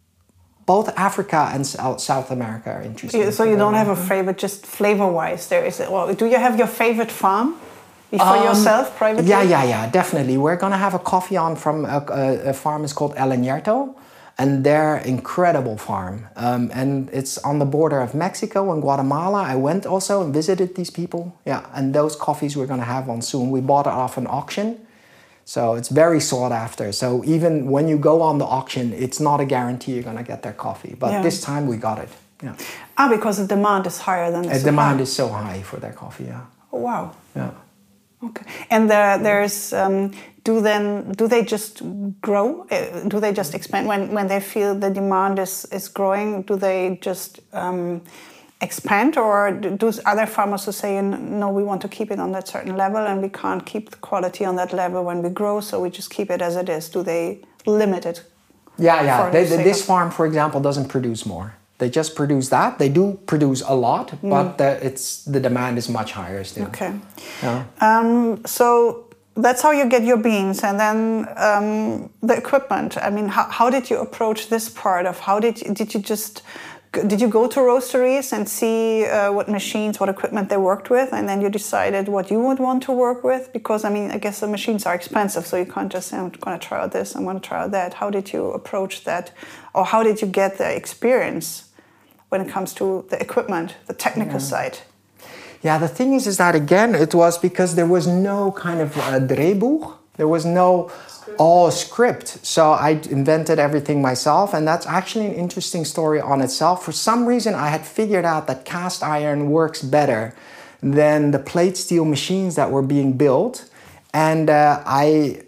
Both Africa and South America are interesting. Yeah, so you don't have a favorite, just flavor-wise. There is. Well, do you have your favorite farm for um, yourself privately? Yeah, yeah, yeah, definitely. We're gonna have a coffee on from a, a, a farm is called El Añerto, and they're incredible farm. Um, and it's on the border of Mexico and Guatemala. I went also and visited these people. Yeah, and those coffees we're gonna have on soon. We bought it off an auction. So it's very sought after. So even when you go on the auction, it's not a guarantee you're going to get their coffee. But yeah. this time we got it. Yeah. Ah, because the demand is higher than the supply. supply. Demand is so high for their coffee, yeah. Oh, wow. Yeah. Okay. And there, there's, um, do then, do they just grow? Uh, do they just expand? When when they feel the demand is, is growing, do they just um, expand, or do other farmers who say, no, we want to keep it on that certain level and we can't keep the quality on that level when we grow, so we just keep it as it is? Do they limit it? Yeah, yeah. They, the, this farm, for example, doesn't produce more. They just produce that. They do produce a lot, mm. but the, it's the demand is much higher still. Okay. Yeah. Um, so that's how you get your beans, and then um, the equipment. I mean, how, how did you approach this part of how did you, did you just Did you go to roasteries and see uh, what machines, what equipment they worked with, and then you decided what you would want to work with? Because, I mean, I guess the machines are expensive, so you can't just say, I'm going to try out this, I'm going to try out that. How did you approach that? Or how did you get the experience when it comes to the equipment, the technical yeah. side? Yeah, the thing is, is that, again, it was because there was no kind of uh, Drehbuch. There was no all script. So I invented everything myself, and that's actually an interesting story on itself. For some reason, I had figured out that cast iron works better than the plate steel machines that were being built. And uh, I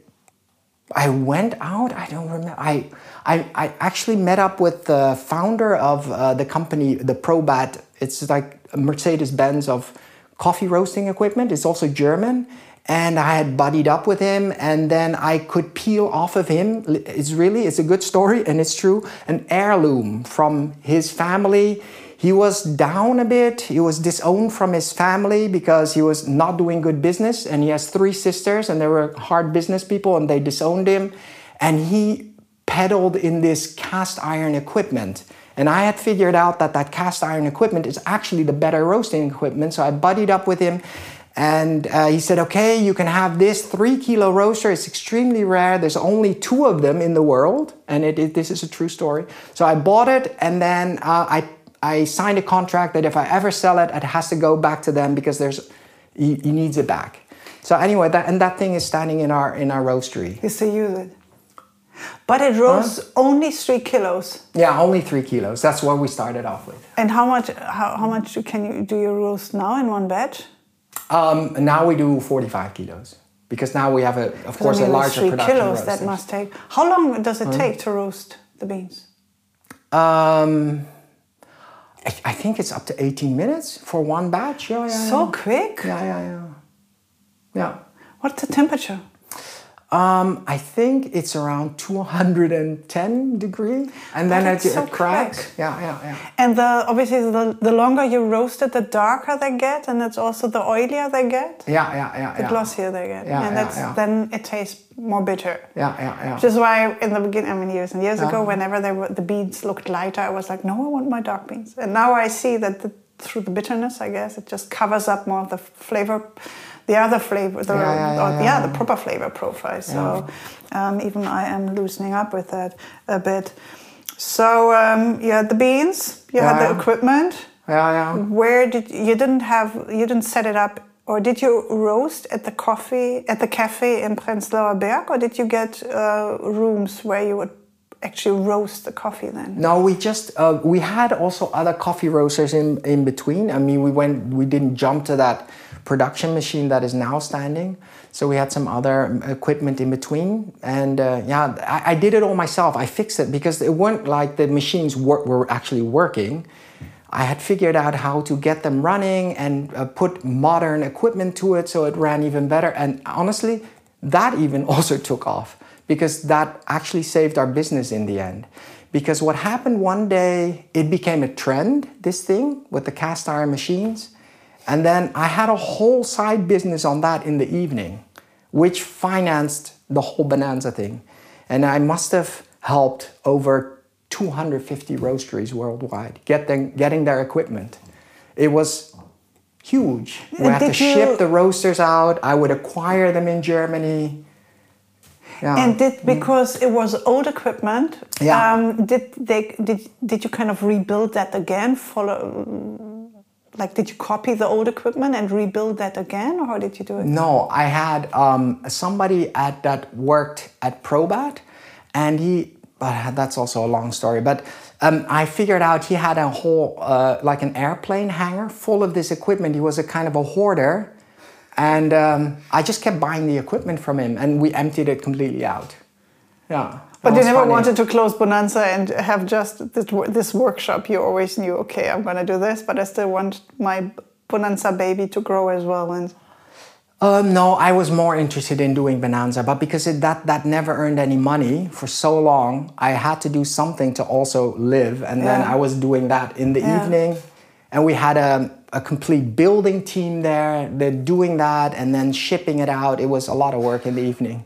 I went out, I don't remember, I, I, I actually met up with the founder of uh, the company, the Probat. It's like a Mercedes-Benz of coffee roasting equipment. It's also German. And I had buddied up with him, and then I could peel off of him. It's really, it's a good story, and it's true, an heirloom from his family. He was down a bit. He was disowned from his family because he was not doing good business. And he has three sisters, and they were hard business people, and they disowned him. And he peddled in this cast iron equipment. And I had figured out that that cast iron equipment is actually the better roasting equipment. So I buddied up with him. And uh, he said, okay, you can have this three kilo roaster. It's extremely rare. There's only two of them in the world. And it, it, this is a true story. So I bought it, and then uh, I, I signed a contract that if I ever sell it, it has to go back to them because there's, he, he needs it back. So anyway, that, and that thing is standing in our, in our roastery. You still use it? But it roasts huh? only three kilos. Yeah, only three kilos. That's what we started off with. And how much, how, how much can you, do you roast now in one batch? Um, now we do forty-five kilos because now we have a, of course, I mean, a larger three production kilos roasters. That must take. How long does it mm. take to roast the beans? Um, I, I think it's up to eighteen minutes for one batch. Yeah, yeah, so yeah. quick. Yeah, yeah, yeah. Yeah. What's the temperature? Um, I think it's around two hundred ten degrees, and then it, so it cracks. Quick. Yeah, yeah, yeah. And the obviously the, the longer you roast it, the darker they get, and it's also the oilier they get. Yeah, yeah, yeah. The yeah. glossier they get, yeah, and yeah, that's yeah. then it tastes more bitter. Yeah, yeah, yeah. Which is why in the beginning, I mean, years and years yeah. ago, whenever they were, the beans looked lighter, I was like, no, I want my dark beans. And now I see that the, through the bitterness, I guess, it just covers up more of the flavor. The other flavor, the, yeah, yeah, yeah, or, yeah, yeah, yeah. the proper flavor profile. So yeah. um, even I am loosening up with that a bit. So um, you had the beans, you yeah, had the yeah. equipment. Yeah, yeah. Where did you didn't have you didn't set it up, or did you roast at the coffee at the cafe in Prenzlauer Berg, or did you get uh, rooms where you would actually roast the coffee then? No, we just uh, we had also other coffee roasters in in between. I mean, we went we didn't jump to that production machine that is now standing. So we had some other equipment in between. And uh, yeah, I, I did it all myself. I fixed it because it weren't like the machines were, were actually working. I had figured out how to get them running and uh, put modern equipment to it so it ran even better. And honestly, that even also took off because that actually saved our business in the end. Because what happened one day, it became a trend, this thing with the cast iron machines. And then I had a whole side business on that in the evening, which financed the whole Bonanza thing. And I must have helped over two hundred fifty roasteries worldwide get them, getting their equipment. It was huge. We had to you... ship the roasters out. I would acquire them in Germany. Yeah. And did because it was old equipment, yeah. um, did they did did you kind of rebuild that again? Follow. Like, did you copy the old equipment and rebuild that again, or how did you do it? No, I had um, somebody at that worked at Probat, and he. But that's also a long story. But um, I figured out he had a whole uh, like an airplane hangar full of this equipment. He was a kind of a hoarder, and um, I just kept buying the equipment from him, and we emptied it completely out. Yeah. But you never funny. wanted to close Bonanza and have just this, this workshop. You always knew, okay, I'm going to do this, but I still want my Bonanza baby to grow as well. And um, no, I was more interested in doing Bonanza, but because it, that that never earned any money for so long, I had to do something to also live. And then yeah. I was doing that in the yeah. evening, and we had a, a complete building team there. They're doing that and then shipping it out. It was a lot of work in the evening.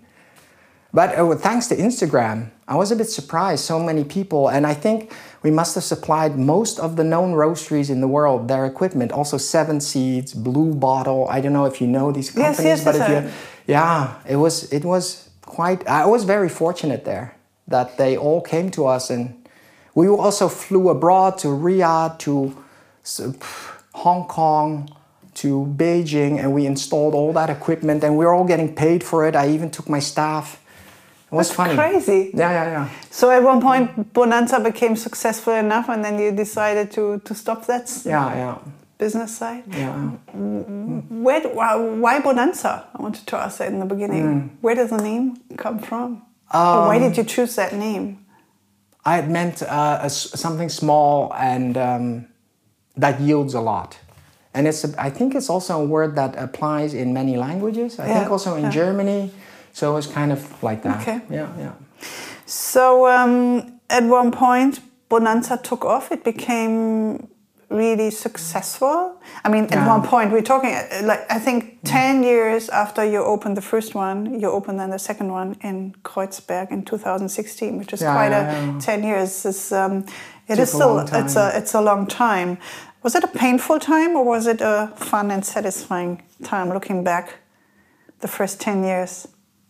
But uh, thanks to Instagram, I was a bit surprised, so many people. And I think we must have supplied most of the known roasteries in the world, their equipment. Also Seven Seeds, Blue Bottle. I don't know if you know these companies. Yes, yes, but yes, if you, yeah, it was, it was quite, I was very fortunate there that they all came to us. And we also flew abroad to Riyadh, to Hong Kong, to Beijing, and we installed all that equipment, and we were all getting paid for it. I even took my staff. It was That's funny. Crazy. Yeah, yeah, yeah. So at one point, Bonanza became successful enough, and then you decided to, to stop that yeah, yeah. business side. Yeah. Where, why Bonanza? I wanted to ask that in the beginning. Mm. Where does the name come from? Um, or why did you choose that name? I had meant uh, a, something small and um, that yields a lot. And it's, a, I think it's also a word that applies in many languages. I yeah. think also in yeah. Germany. So it's kind of like that. Okay. Yeah, yeah. So um, at one point, Bonanza took off. It became really successful. I mean, at yeah. one point, we're talking, like, I think ten yeah. years after you opened the first one, you opened then the second one in Kreuzberg in two thousand sixteen, which is yeah, quite yeah, a yeah. ten years. It's, um, it is still, it's a, it's a long time. Was it a painful time, or was it a fun and satisfying time looking back, the first ten years?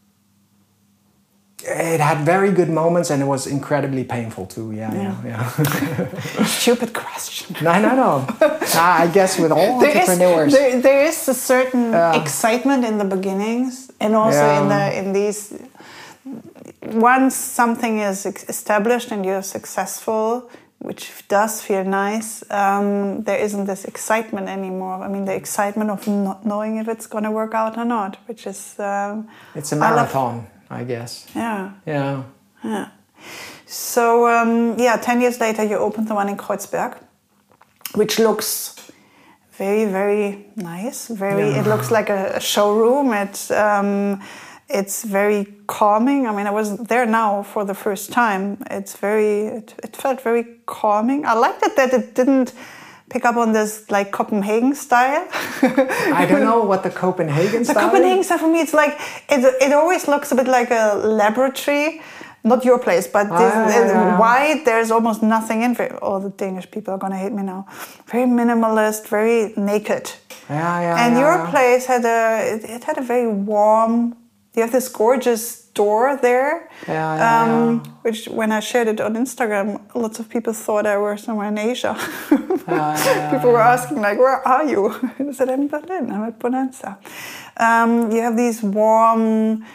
It had very good moments and it was incredibly painful too. Yeah, yeah, yeah. yeah. Stupid question. No, no, no. I guess with all there entrepreneurs, is, there, there is a certain uh, excitement in the beginnings, and also yeah. in the in these. Once something is established and you're successful, which does feel nice, um, there isn't this excitement anymore. I mean, the excitement of not knowing if it's going to work out or not, which is um, it's a marathon. I guess. Yeah. Yeah. Yeah. So, um, yeah, ten years later, you opened the one in Kreuzberg, which looks very, very nice. Very. Yeah. It looks like a, a showroom. It, um, it's very calming. I mean, I was there now for the first time. It's very. It, it felt very calming. I liked it that it didn't pick up on this like Copenhagen style. I don't know what the Copenhagen the style The Copenhagen is. style for me, it's like, it, it always looks a bit like a laboratory. Not your place, but this, ah, yeah, yeah. wide, there's almost nothing in it. All the Danish people are going to hate me now. Very minimalist, very naked. Yeah, yeah, and yeah, your yeah. place had a, it, it had a very warm, you have this gorgeous door there, yeah, yeah, um, yeah. which when I shared it on Instagram, lots of people thought I were somewhere in Asia. yeah, yeah, people were yeah. asking like, where are you? I said, I'm in Berlin, I'm at Bonanza. Um, you have these warm,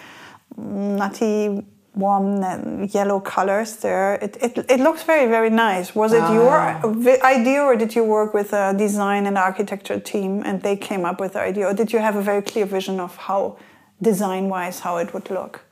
nutty, warm yellow colors there. It, it, it looks very, very nice. Was it ah. your idea, or did you work with a design and architecture team and they came up with the idea? Or did you have a very clear vision of how, design-wise, how it would look?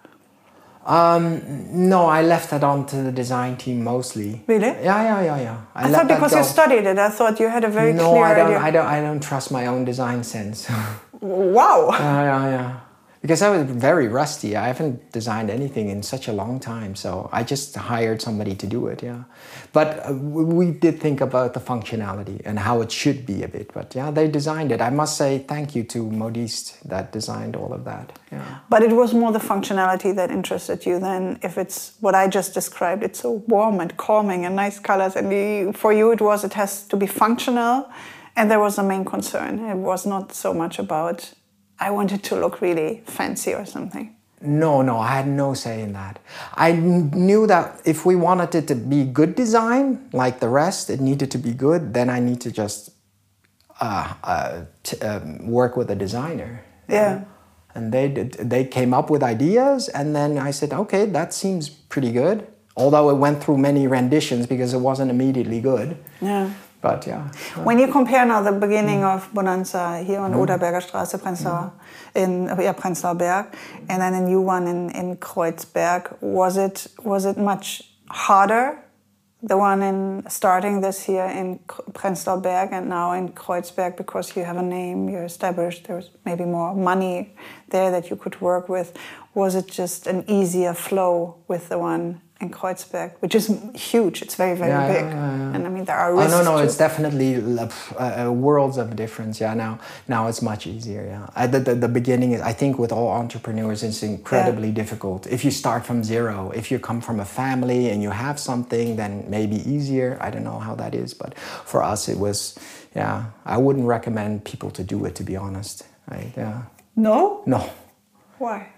Um, no, I left that on to the design team mostly. Really? Yeah, yeah, yeah, yeah. I, I thought because you studied it, I thought you had a very no, clear I don't, idea. I don't. I don't trust my own design sense. Wow. Yeah, yeah, yeah. Because I was very rusty. I haven't designed anything in such a long time, so I just hired somebody to do it. Yeah, but uh, we did think about the functionality and how it should be a bit. But yeah, they designed it. I must say thank you to Modiste that designed all of that. Yeah. But it was more the functionality that interested you than if it's what I just described. It's so warm and calming and nice colors, and the, for you it was it has to be functional, and there was a main concern. It was not so much about I wanted to look really fancy or something. No, no, I had no say in that. I knew that if we wanted it to be good design, like the rest, it needed to be good, then I need to just uh, uh, t- um, work with a designer. Yeah. And they did, they came up with ideas, and then I said, okay, that seems pretty good. Although it went through many renditions because it wasn't immediately good. Yeah. But yeah. When you compare now the beginning mm. of Bonanza here on mm. Oderberger Straße, Prenzlauer, mm. in yeah, Prenzlauer Berg, and then a new one in, in Kreuzberg, was it was it much harder? The one in starting this year in Prenzlauer Berg and now in Kreuzberg, because you have a name, you're established, there's maybe more money there that you could work with. Was it just an easier flow with the one in Kreuzberg, which is huge? It's very, very yeah, big. Yeah, yeah, yeah. And I mean, there are risks. Oh, no, no, too. it's definitely uh, worlds of difference. Yeah, now now it's much easier. Yeah, at the, the, the beginning, I think with all entrepreneurs, it's incredibly yeah. difficult. If you start from zero, if you come from a family and you have something, then maybe easier. I don't know how that is, but for us, it was, yeah, I wouldn't recommend people to do it, to be honest. Right? Yeah. No? No. Why?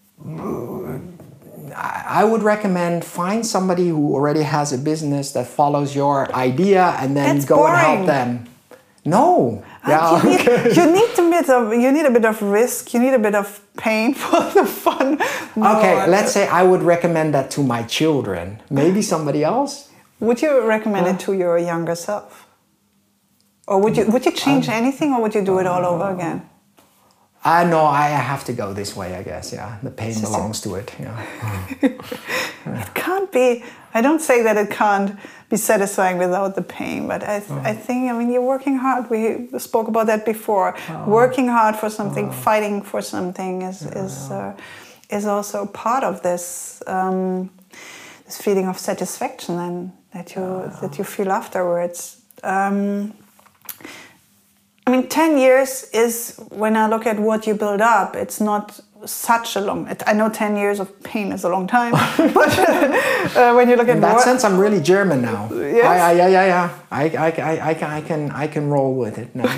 I would recommend find somebody who already has a business that follows your idea, and then That's go boring. and help them. No, yeah, you, okay. need, you need a bit of you need a bit of risk. You need a bit of pain for the fun. No, okay, let's say I would recommend that to my children. Maybe somebody else. Would you recommend uh, it to your younger self, or would you would you change um, anything, or would you do it all over again? I uh, know I have to go this way, I guess. Yeah, the pain belongs to it. Yeah. It can't be. I don't say that it can't be satisfying without the pain, but I, th- oh. I think. I mean, you're working hard. We spoke about that before. Oh. Working hard for something, oh. fighting for something, is yeah. is uh, is also part of this um, this feeling of satisfaction and that you oh. that you feel afterwards. Um, I mean, ten years is, when I look at what you build up, it's not such a long. I know ten years of pain is a long time, but uh, when you look at in that war, sense, I'm really German now. Yes. I, I, yeah, yeah, yeah. I, I, I, I, can, I can, I can roll with it now.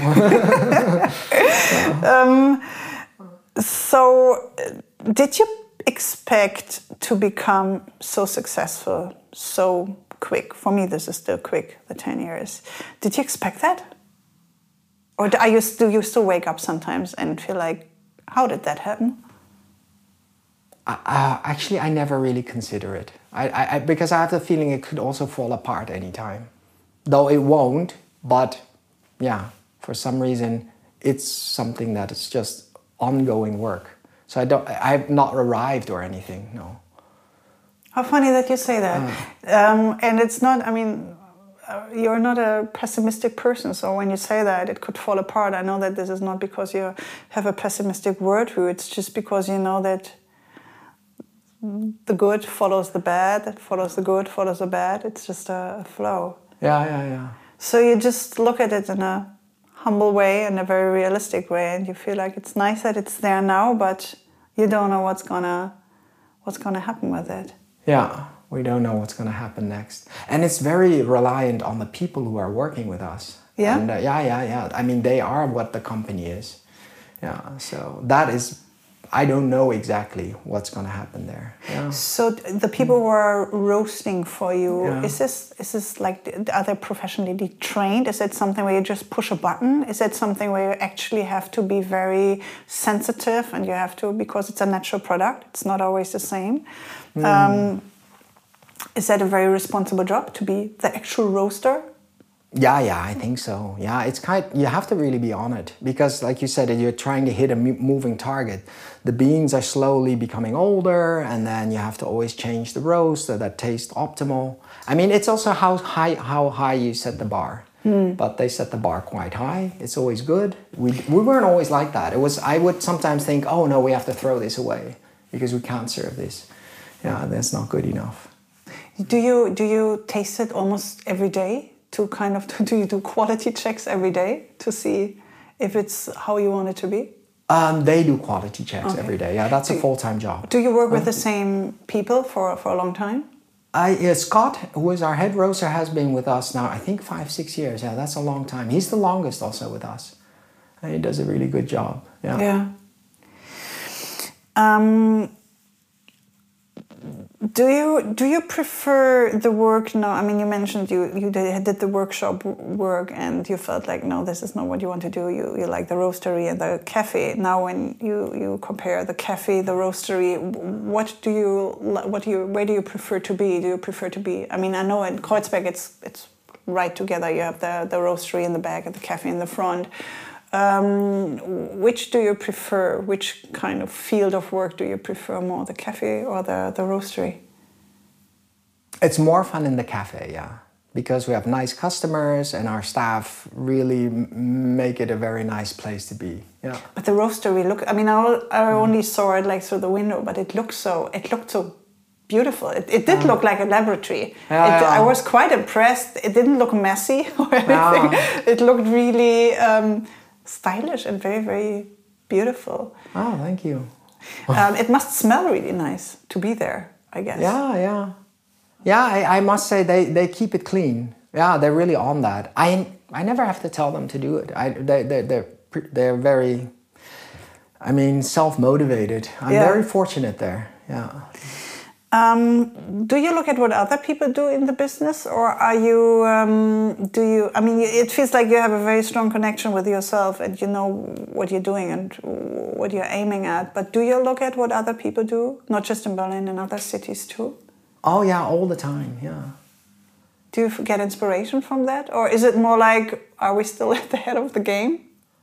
um, so, did you expect to become so successful so quick? For me, this is still quick. The ten years. Did you expect that? Or do, are you, do you still wake up sometimes and feel like, how did that happen? Uh, actually, I never really consider it. I, I, I, because I have the feeling it could also fall apart anytime. Though it won't, but yeah, for some reason, it's something that is just ongoing work. So I don't, I've not arrived or anything, no. How funny that you say that. Uh, um, and it's not, I mean, Uh, you're not a pessimistic person, so when you say that it could fall apart, I know that this is not because you have a pessimistic worldview, it's just because you know that the good follows the bad, that follows the good, follows the bad, it's just a, a flow. Yeah, yeah, yeah. So you just look at it in a humble way, in a very realistic way, and you feel like it's nice that it's there now, but you don't know what's gonna, what's gonna happen with it. Yeah. We don't know what's going to happen next. And it's very reliant on the people who are working with us. Yeah? And, uh, yeah, yeah, yeah. I mean, they are what the company is. Yeah, so that is, I don't know exactly what's going to happen there. Yeah. So the people who are roasting for you, Yeah. is this is this like, are they professionally trained? Is it something where you just push a button? Is it something where you actually have to be very sensitive and you have to, because it's a natural product, it's not always the same. Mm. Um, Is that a very responsible job to be the actual roaster? Yeah, yeah, I think so. Yeah, it's kind. You have to really be on it because, like you said, you're trying to hit a moving target. The beans are slowly becoming older, and then you have to always change the roast so that tastes optimal. I mean, it's also how high how high you set the bar. Mm. But they set the bar quite high. It's always good. We we weren't always like that. It was. I would sometimes think, oh no, we have to throw this away because we can't serve this. Yeah, that's not good enough. Do you do you taste it almost every day to kind of do you do quality checks every day to see if it's how you want it to be? Um, they do quality checks Okay. every day. Yeah, that's do a full-time job. Do you work with the same people for, for a long time? I yeah, Scott, who is our head roaster, has been with us now, I think five, six years. Yeah, that's a long time. He's the longest also with us. And he does a really good job. Yeah. Yeah. Um, Do you do you prefer the work now? I mean, you mentioned you you did, did the workshop work and you felt like, no, this is not what you want to do. You you like the roastery and the cafe. Now, when you, you compare the cafe, the roastery, what do you what do you where do you prefer to be? Do you prefer to be? I mean, I know in Kreuzberg it's it's right together. You have the the roastery in the back and the cafe in the front. Um, which do you prefer? Which kind of field of work do you prefer more, the cafe or the, the roastery? It's more fun in the cafe, yeah. Because we have nice customers and our staff really m- make it a very nice place to be. Yeah. But the roastery, look, I mean, I, I only saw it like through the window, but it looked so, it looked so beautiful. It, it did uh, look like a laboratory. Yeah, it, yeah. I was quite impressed. It didn't look messy or anything. Yeah. It looked really um, stylish and very, very beautiful. Oh, thank you. um, it must smell really nice to be there, I guess. Yeah, yeah. Yeah, I, I must say they, they keep it clean. Yeah, they're really on that. I I never have to tell them to do it. I they they they're they're very, I mean, self-motivated. I'm yeah. very fortunate there. Yeah. Um, do you look at what other people do in the business, or are you? Um, do you? I mean, it feels like you have a very strong connection with yourself, and you know what you're doing and what you're aiming at. But do you look at what other people do, not just in Berlin, in other cities too? Oh yeah, all the time. Yeah. Do you get inspiration from that, or is it more like, are we still at the head of the game?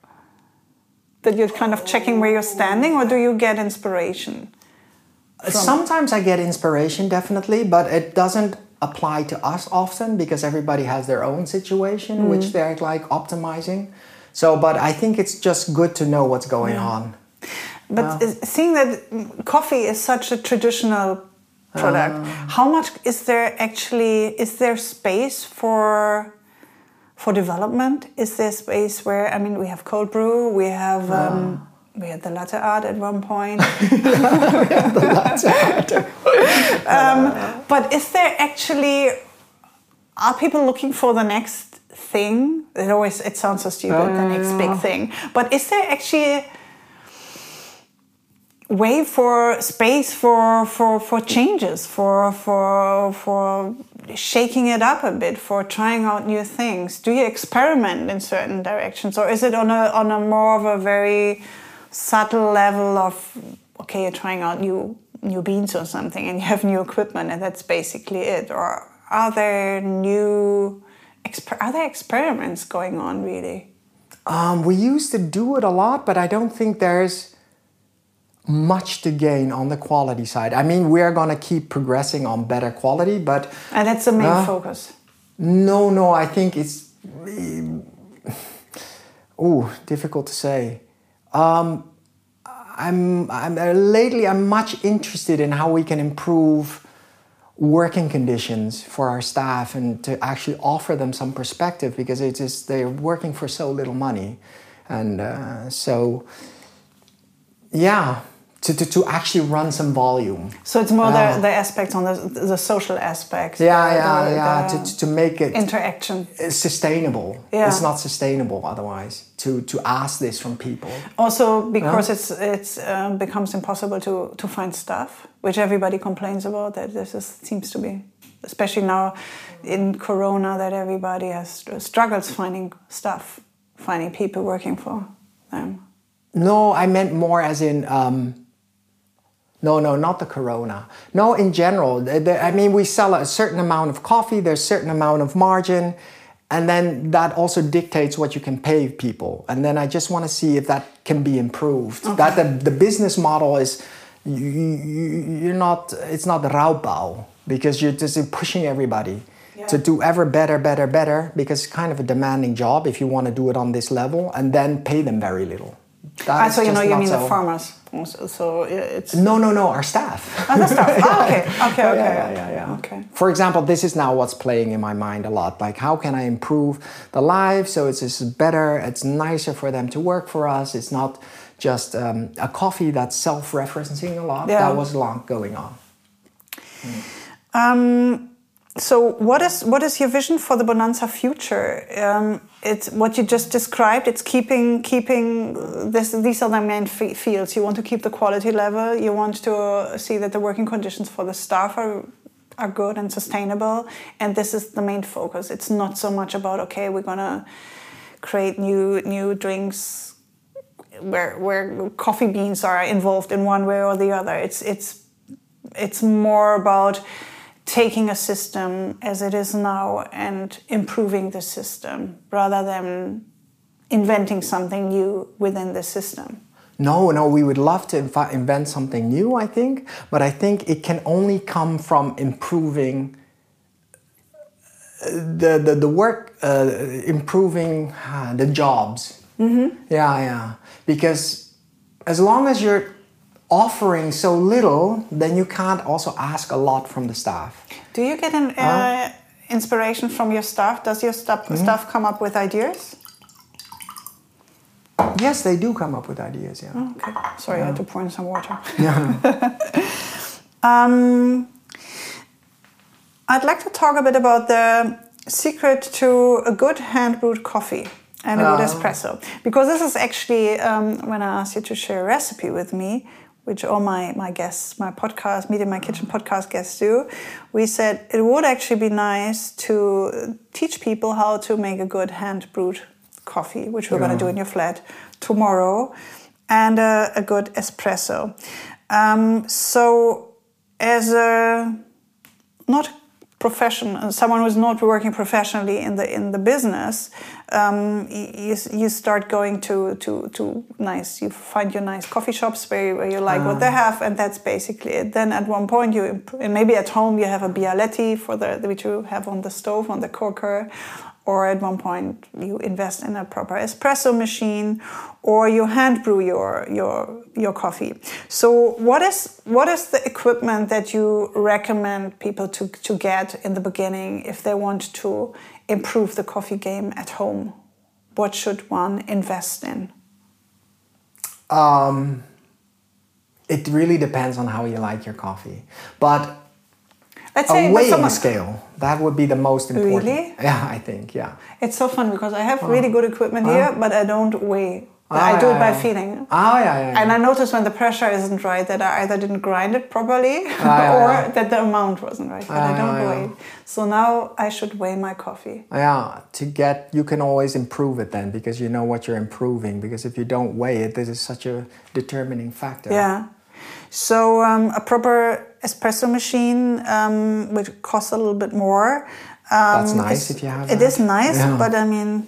That you're kind of checking where you're standing, or do you get inspiration? From? Sometimes I get inspiration, definitely, but it doesn't apply to us often because everybody has their own situation, mm. which they're like optimizing. So, but I think it's just good to know what's going yeah. on. But uh, seeing that coffee is such a traditional product, uh, how much is there actually, is there space for for development? Is there space where, I mean, we have cold brew, we have... Um, we had the latte art at one point. We had the latte art. um, but is there actually, are people looking for the next thing? It always, it sounds so stupid, uh, the next big thing. But is there actually way for space for for for changes, for for for shaking it up a bit, for trying out new things? Do you experiment in certain directions, or is it on a on a more of a very subtle level of, okay, you're trying out new new beans or something and you have new equipment and that's basically it? Or are there new exper- are there experiments going on really? Um, we used to do it a lot, but I don't think there's much to gain on the quality side. I mean, we're going to keep progressing on better quality, but... And that's the main uh, focus. No, no, I think it's... Oh, difficult to say. Um, I'm, I'm uh, lately, I'm much interested in how we can improve working conditions for our staff and to actually offer them some perspective, because it is, they're working for so little money. And uh, so, yeah... To, to, to actually run some volume. So it's more uh, the, the aspects on the, the social aspects. Yeah, the, yeah, the, yeah. the to, to make it interaction sustainable. Yeah. It's not sustainable otherwise. To to ask this from people. Also because uh, it's it's um, becomes impossible to, to find staff, which everybody complains about. That this is, seems to be, especially now in Corona, that everybody has struggles finding staff, finding people working for them. No, I meant more as in. Um, No, no, not the Corona. No, in general. The, the, I mean, we sell a certain amount of coffee, there's a certain amount of margin, and then that also dictates what you can pay people. And then I just want to see if that can be improved. Okay. That the, the business model is, you, you, you're not, it's not Raubbau, because you're just pushing everybody yeah. to do ever better, better, better, because it's kind of a demanding job if you want to do it on this level, and then pay them very little. Ah, so you know, you mean so. The farmers. So, so it's no, no, no. Our staff. Oh, the staff. Oh, okay, okay, okay. Yeah, yeah, yeah, yeah. Okay. For example, this is now what's playing in my mind a lot. Like, how can I improve the life so it's just better? It's nicer for them to work for us. It's not just um, a coffee that's self-referencing a lot. Yeah. That was long going on. Mm. Um. So what is what is your vision for the Bonanza future? Um, it's what you just described. It's keeping keeping this. These are the main f- fields. You want to keep the quality level. You want to see that the working conditions for the staff are are good and sustainable. And this is the main focus. It's not so much about, okay, we're gonna create new new drinks where where coffee beans are involved in one way or the other. It's it's it's more about taking a system as it is now and improving the system rather than inventing something new within the system. No, no, we would love to inv- invent something new, I think, but I think it can only come from improving the the, the work, uh, improving uh, the jobs. Mm-hmm. Yeah, yeah, because as long as you're offering so little, then you can't also ask a lot from the staff. Do you get an uh, uh, inspiration from your staff? Does your staff, mm-hmm. staff come up with ideas? Yes, they do come up with ideas, yeah. Oh, okay. Sorry, yeah. I had to pour in some water. Yeah. um, I'd like to talk a bit about the secret to a good hand-brewed coffee and a uh. good espresso. Because this is actually, um, when I asked you to share a recipe with me, which all my, my guests, my podcast, Meet in My Kitchen podcast guests do, we said it would actually be nice to teach people how to make a good hand-brewed coffee, which we're yeah. going to do in your flat tomorrow, and a, a good espresso. Um, so as a not professional, someone who's not working professionally in the in the business, um, you you start going to to to nice. You find your nice coffee shops where, where you like uh. what they have, and that's basically it. Then at one point you and maybe at home you have a Bialetti for the which you have on the stove on the cooker, or at one point you invest in a proper espresso machine, or you hand brew your your your coffee. So what is what is the equipment that you recommend people to to get in the beginning if they want to improve the coffee game at home? What should one invest in? Um, it really depends on how you like your coffee. But Let's a say but weighing someone- scale, that would be the most important. Really? Yeah, I think, yeah. It's so fun because I have really good equipment Oh. here, but I don't weigh. Oh, I do yeah, it by yeah. feeling. Oh, yeah, yeah. yeah. And I notice when the pressure isn't right that I either didn't grind it properly yeah, or yeah. that the amount wasn't right, but Ah, I don't yeah, weigh yeah. it. So now I should weigh my coffee. Yeah, to get, you can always improve it then because you know what you're improving. Because if you don't weigh it, this is such a determining factor. Yeah. So um, a proper espresso machine, um, which costs a little bit more. Um, That's nice is- if you have It that. is nice, Yeah. but I mean,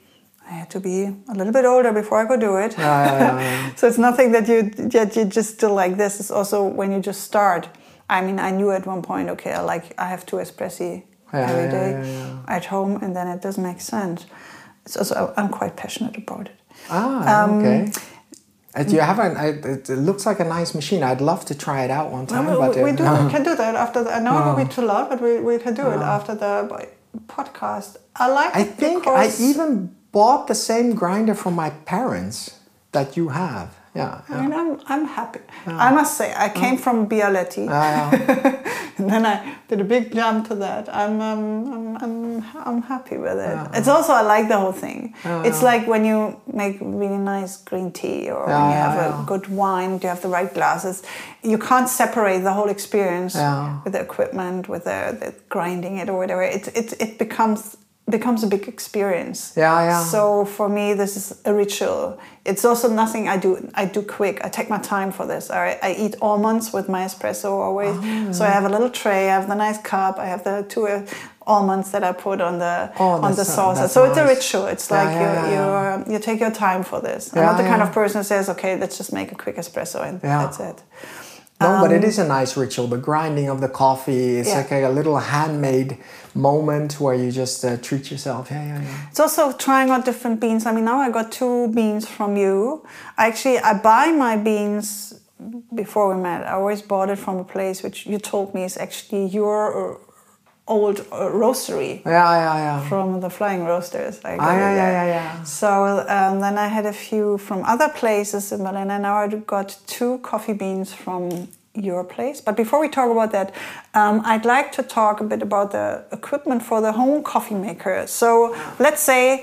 I had to be a little bit older before I could do it. Yeah, yeah, yeah, yeah. So it's nothing that you that you just still like this. It's also when you just start. I mean, I knew at one point, okay, I like I have two espressi Yeah, every yeah, day yeah, yeah. at home, and then it doesn't make sense. It's also I'm quite passionate about it. Ah, Um, okay. Uh, do you have an, I, it it looks like a nice machine. I'd love to try it out one time. No, but we, we uh, do we can do that after. The, I know Oh. it will be too loud, but we, we can do it after the podcast. I like. I it think I because- even bought the same grinder from my parents that you have. Yeah. I yeah. mean, I'm I'm happy. I must say, I came from Bialetti, Ah, yeah. and then I did a big jump to that. I'm um, I'm, I'm I'm happy with it. It's also I like the whole thing. It's like when you make really nice green tea, or when Yeah, you have yeah, a yeah. good wine, you have the right glasses. You can't separate the whole experience Yeah. with the equipment, with the, the grinding it or whatever. It it it becomes. becomes a big experience. Yeah, yeah. So for me, this is a ritual. It's also nothing I do. I do quick. I take my time for this. I, I eat almonds with my espresso always. Oh. So I have a little tray. I have the nice cup. I have the two uh, almonds that I put on the Oh, on the that's- sauce. that's So it's a nice. ritual. It's Yeah, like yeah, you yeah, you yeah. um, you take your time for this. I'm Yeah, not the kind yeah. of person who says, okay, let's just make a quick espresso and Yeah. that's it. No, but it Um, is a nice ritual. The grinding of the coffee, it's Yeah. like a, a little handmade moment where you just uh, treat yourself. Yeah, yeah, yeah. It's also trying out different beans. I mean, now I got two beans from you. I actually, I buy my beans before we met. I always bought it from a place which you told me is actually your uh, old uh, roastery Yeah, yeah, yeah. from the Flying Roasters. I got Ah, it yeah, there. yeah, yeah, yeah. So um, then I had a few from other places in Berlin, and now I got two coffee beans from your place. But before we talk about that, um, I'd like to talk a bit about the equipment for the home coffee maker. So let's say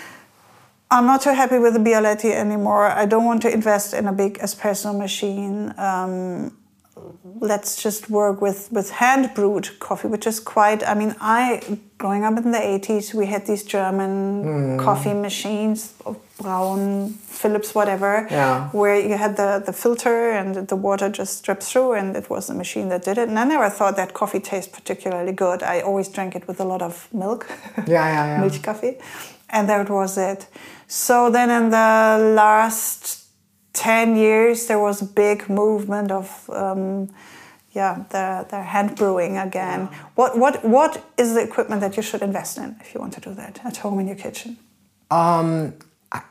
I'm not too happy with the Bialetti anymore. I don't want to invest in a big espresso machine. Um, let's just work with, with hand brewed coffee, which is quite, I mean, I, growing up in the eighties, we had these German Mm. coffee machines, Braun, Philips, whatever, Yeah. where you had the, the filter and the water just drips through, and it was the machine that did it. And I never thought that coffee tastes particularly good. I always drank it with a lot of milk, Yeah, yeah, yeah. Milchkaffee, and that was it. So then in the last ten years, there was a big movement of, um, yeah, the, the hand brewing again. What, what, what is the equipment that you should invest in if you want to do that at home in your kitchen? Um, I-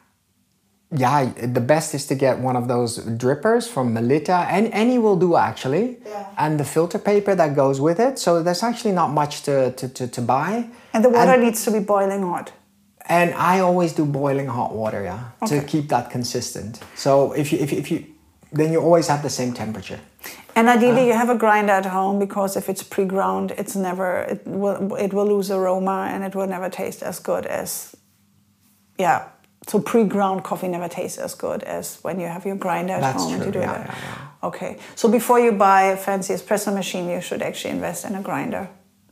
yeah, the best is to get one of those drippers from Melita. Any, any will do actually. Yeah. And the filter paper that goes with it. So there's actually not much to, to, to, to buy. And the water And- needs to be boiling hot. And I always do boiling hot water, yeah, Okay. to keep that consistent. So if you, if you, if you, then you always have the same temperature. And ideally, you have a grinder at home, because if it's pre-ground, it's never it will it will lose aroma and it will never taste as good as, yeah. So pre-ground coffee never tastes as good as when you have your grinder at That's home and true, you do yeah, that. yeah, yeah. Okay. So before you buy a fancy espresso machine, you should actually invest in a grinder.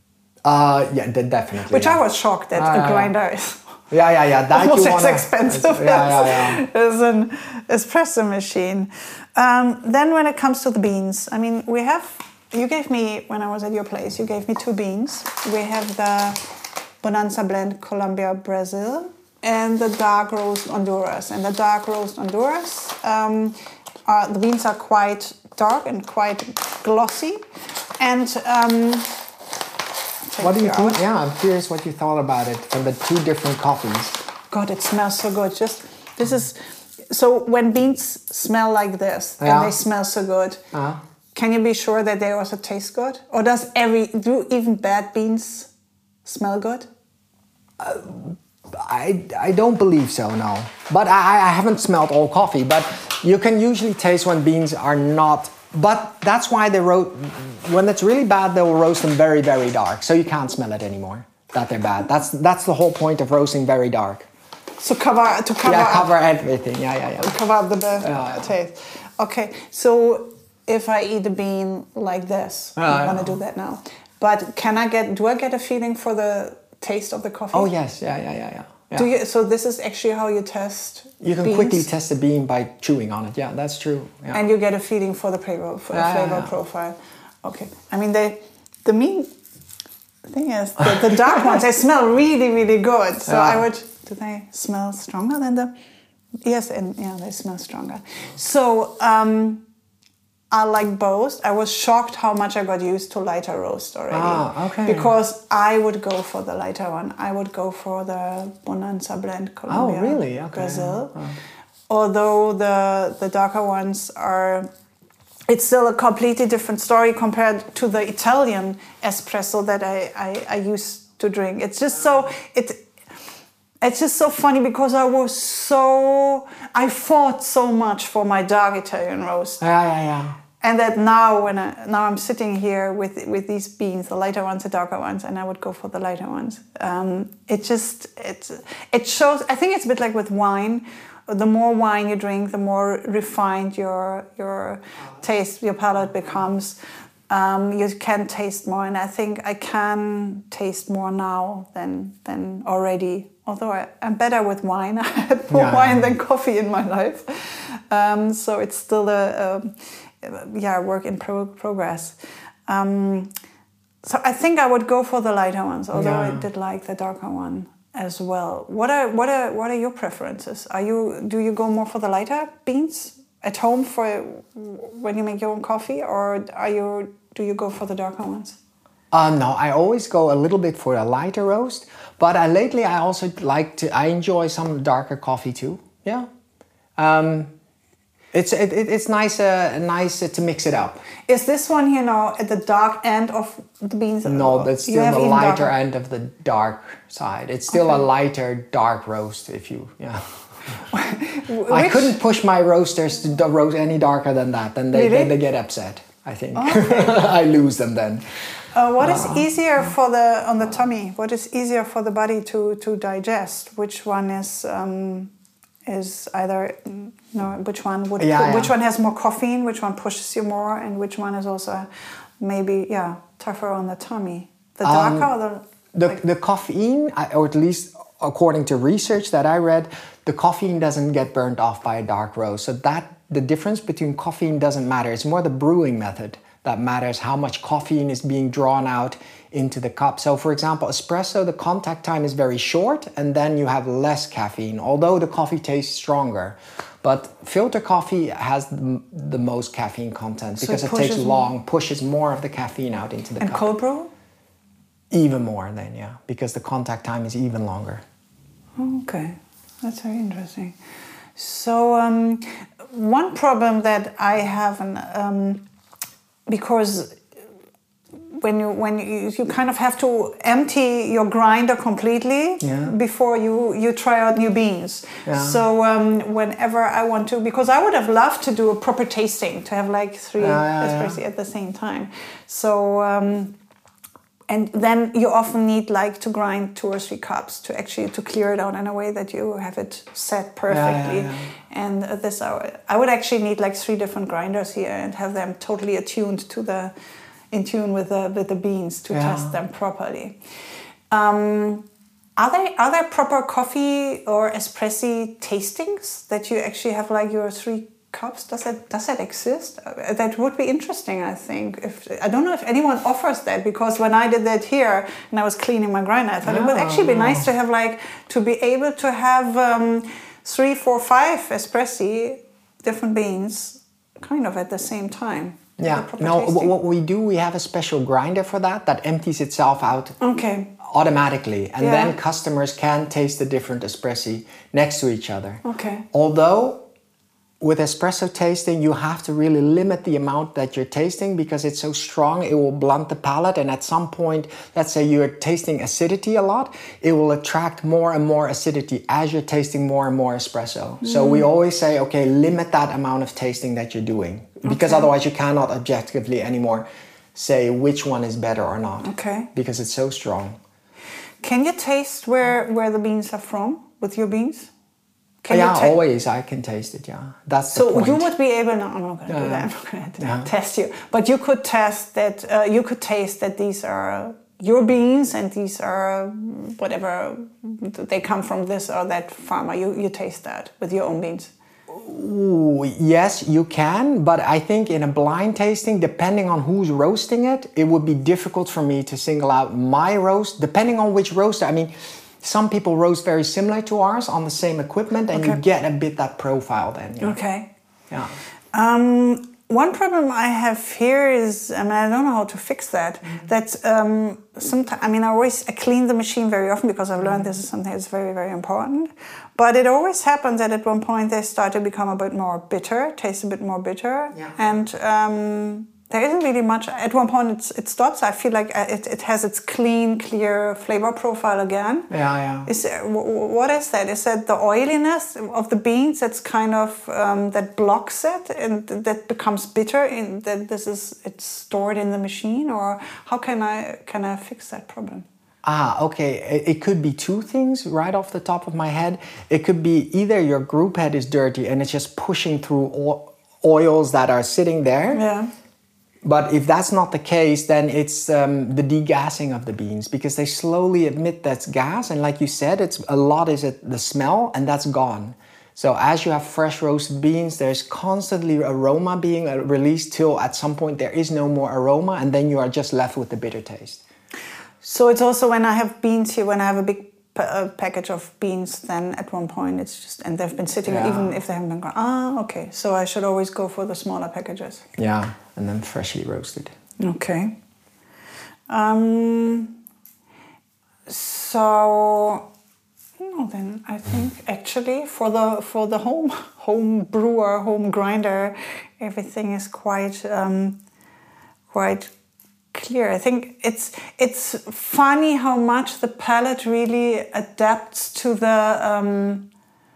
Uh, yeah, de- definitely. Which yeah. I was shocked that Ah, a yeah, yeah. grinder is Yeah, yeah, yeah. That almost you as wanna, expensive Yeah, yeah, yeah. as, as an espresso machine. Um, then when it comes to the beans, I mean, we have, you gave me, when I was at your place, you gave me two beans. We have the Bonanza Blend Colombia Brazil and the Dark Roast Honduras. And the Dark Roast Honduras, um, are, the beans are quite dark and quite glossy. And um, What do you check think? out. Yeah, I'm curious what you thought about it from the two different coffees. God, it smells so good. Just this is so when beans smell like this Yeah. and they smell so good. Uh-huh. Can you be sure that they also taste good, or does every do even bad beans smell good? I, I don't believe so, no. But I, I haven't smelled all coffee. But You can usually taste when beans are not, but that's why they roast, when it's really bad, they'll roast them very, very dark. So you can't smell it anymore, that they're bad. That's that's the whole point of roasting very dark. So cover, to cover Yeah, cover up, everything, yeah, yeah, yeah. cover up the bad Yeah. taste. Okay, so if I eat a bean like this, Yeah, I'm yeah. gonna do that now. But can I get, do I get a feeling for the taste of the coffee? Oh yes, yeah, yeah, yeah, yeah. yeah. Do you, so this is actually how you test You can beans? quickly test the bean by chewing on it. Yeah, that's true. Yeah. And you get a feeling for the flavor, for the Yeah, flavor yeah, yeah. profile. Okay. I mean, they, the mean thing is, the, the dark ones, they smell really, really good. So Yeah. I would, do they smell stronger than the, yes, and yeah, they smell stronger. So um, I like both. I was shocked how much I got used to lighter roast already. Ah, okay. Because I would go for the lighter one. I would go for the Bonanza blend Colombia, Oh, really? Okay. Brazil. Oh. Although the, the darker ones are, it's still a completely different story compared to the Italian espresso that I, I, I used to drink. It's just so, it, it's just so funny because I was so, I fought so much for my dark Italian roast. Yeah, yeah, yeah. And that now when I, now I'm sitting here with with these beans, the lighter ones, the darker ones, and I would go for the lighter ones. Um, it just, it, it shows, I think it's a bit like with wine. The more wine you drink, the more refined your your taste, your palate becomes. Um, you can taste more, and I think I can taste more now than than already. Although I, I'm better with wine, I had more Yeah. wine than coffee in my life, um, so it's still a, a yeah work in pro- progress. Um, so I think I would go for the lighter ones, although Yeah. I did like the darker one as well. What are what are what are your preferences? Are you do you go more for the lighter beans at home for when you make your own coffee, or are you do you go for the darker ones? Uh, no, I always go a little bit for a lighter roast, but I, lately I also like to. I enjoy some darker coffee too. Yeah, um, it's it, it, it's nice uh, nice uh, to mix it up. Is this one here now at the dark end of the beans? No, that's You still have the even lighter darker. end of the dark side. It's still Okay. a lighter dark roast. If you yeah. I Which- couldn't push my roasters to do- roast any darker than that. Then they, Really? they, they get upset. I think I lose them then. Uh, what is easier for the on the tummy? What is easier for the body to, to digest? Which one is um, is either no? Which one would Yeah, which yeah. one has more caffeine? Which one pushes you more? And which one is also maybe yeah tougher on the tummy? The darker Um, or the The, like- the caffeine, I- or at least according to research that I read, the caffeine doesn't get burned off by a dark roast. So that the difference between caffeine doesn't matter. It's more the brewing method that matters, how much caffeine is being drawn out into the cup. So for example, espresso, the contact time is very short and then you have less caffeine, although the coffee tastes stronger. But filter coffee has the, the most caffeine content So because it it, takes pushes more. long, pushes more of the caffeine out into the and cup. cold brew? Even more then, yeah, because the contact time is even longer. Okay, that's very interesting. So um, one problem that I have, an, um, because when you when you, you kind of have to empty your grinder completely Yeah. before you, you try out new beans. Yeah. So um, whenever I want to, because I would have loved to do a proper tasting, to have like three Yeah, yeah, yeah. espressi at the same time. So. Um, And then you often need like to grind two or three cups to actually to clear it out in a way that you have it set perfectly. Yeah, yeah, And uh, this, I would- I would actually need like three different grinders here and have them totally attuned to the, in tune with the with the beans to Yeah. test them properly. Um, are there are there proper coffee or espressi tastings that you actually have like your three cups? Does that does that exist? Uh, That would be interesting. I think. If I don't know if anyone offers that, because when I did that here and I was cleaning my grinder, I thought it would actually be nice to have like to be able to have um, three, four, five espressi, different beans, kind of at the same time. Yeah, The proper no, wh- tasting. what we do, we have a special grinder for that that empties itself out Okay. automatically. And Yeah. then customers can taste the different espressi next to each other. Okay. Although with espresso tasting, you have to really limit the amount that you're tasting because it's so strong, it will blunt the palate. And at some point, let's say you're tasting acidity a lot, it will attract more and more acidity as you're tasting more and more espresso. Mm. So we always say, okay, limit that amount of tasting that you're doing because okay. otherwise you cannot objectively anymore say which one is better or not. Okay. Because it's so strong. Can you taste where, where the beans are from with your beans? Can yeah, ta- always I can taste it, yeah. That's so the point. You would be able, no, I'm not going to uh, do that, I'm not going to yeah. test you. But you could test that, uh, you could taste that these are your beans and these are whatever, they come from this or that farmer. You, you taste that with your own beans. Ooh, yes, you can, but I think in a blind tasting, depending on who's roasting it, it would be difficult for me to single out my roast, depending on which roaster. I mean, some people roast very similar to ours on the same equipment, and okay. you get a bit that profile then. Yeah. Okay. Yeah. Um, one problem I have here is, I mean, I don't know how to fix that. Mm-hmm. That um, sometimes, I mean, I always I clean the machine very often because I've learned this is something that's very, very important. But it always happens that at one point they start to become a bit more bitter, taste a bit more bitter, yeah. and. Um, There isn't really much. At one point, it's, it stops. I feel like it, it has its clean, clear flavor profile again. Yeah, yeah. Is what is that? Is that the oiliness of the beans that's kind of um, that blocks it and that becomes bitter? In that this is it's stored in the machine, or how can I can I fix that problem? Ah, okay. It could be two things right off the top of my head. It could be either your group head is dirty and it's just pushing through oils that are sitting there. Yeah. But if that's not the case, then it's um, the degassing of the beans because they slowly emit that gas. And like you said, it's a lot is it the smell, and that's gone. So as you have fresh roasted beans, there's constantly aroma being released till at some point there is no more aroma, and then you are just left with the bitter taste. So it's also when I have beans here, when I have a big a package of beans, then at one point it's just, and they've been sitting, yeah. even if they haven't been gone. Ah, okay. So I should always go for the smaller packages. Yeah, and then freshly roasted. Okay. Um. So, no, then I think actually for the for the home home brewer, home grinder, everything is quite um, quite. clear. I think it's it's funny how much the palate really adapts to the um,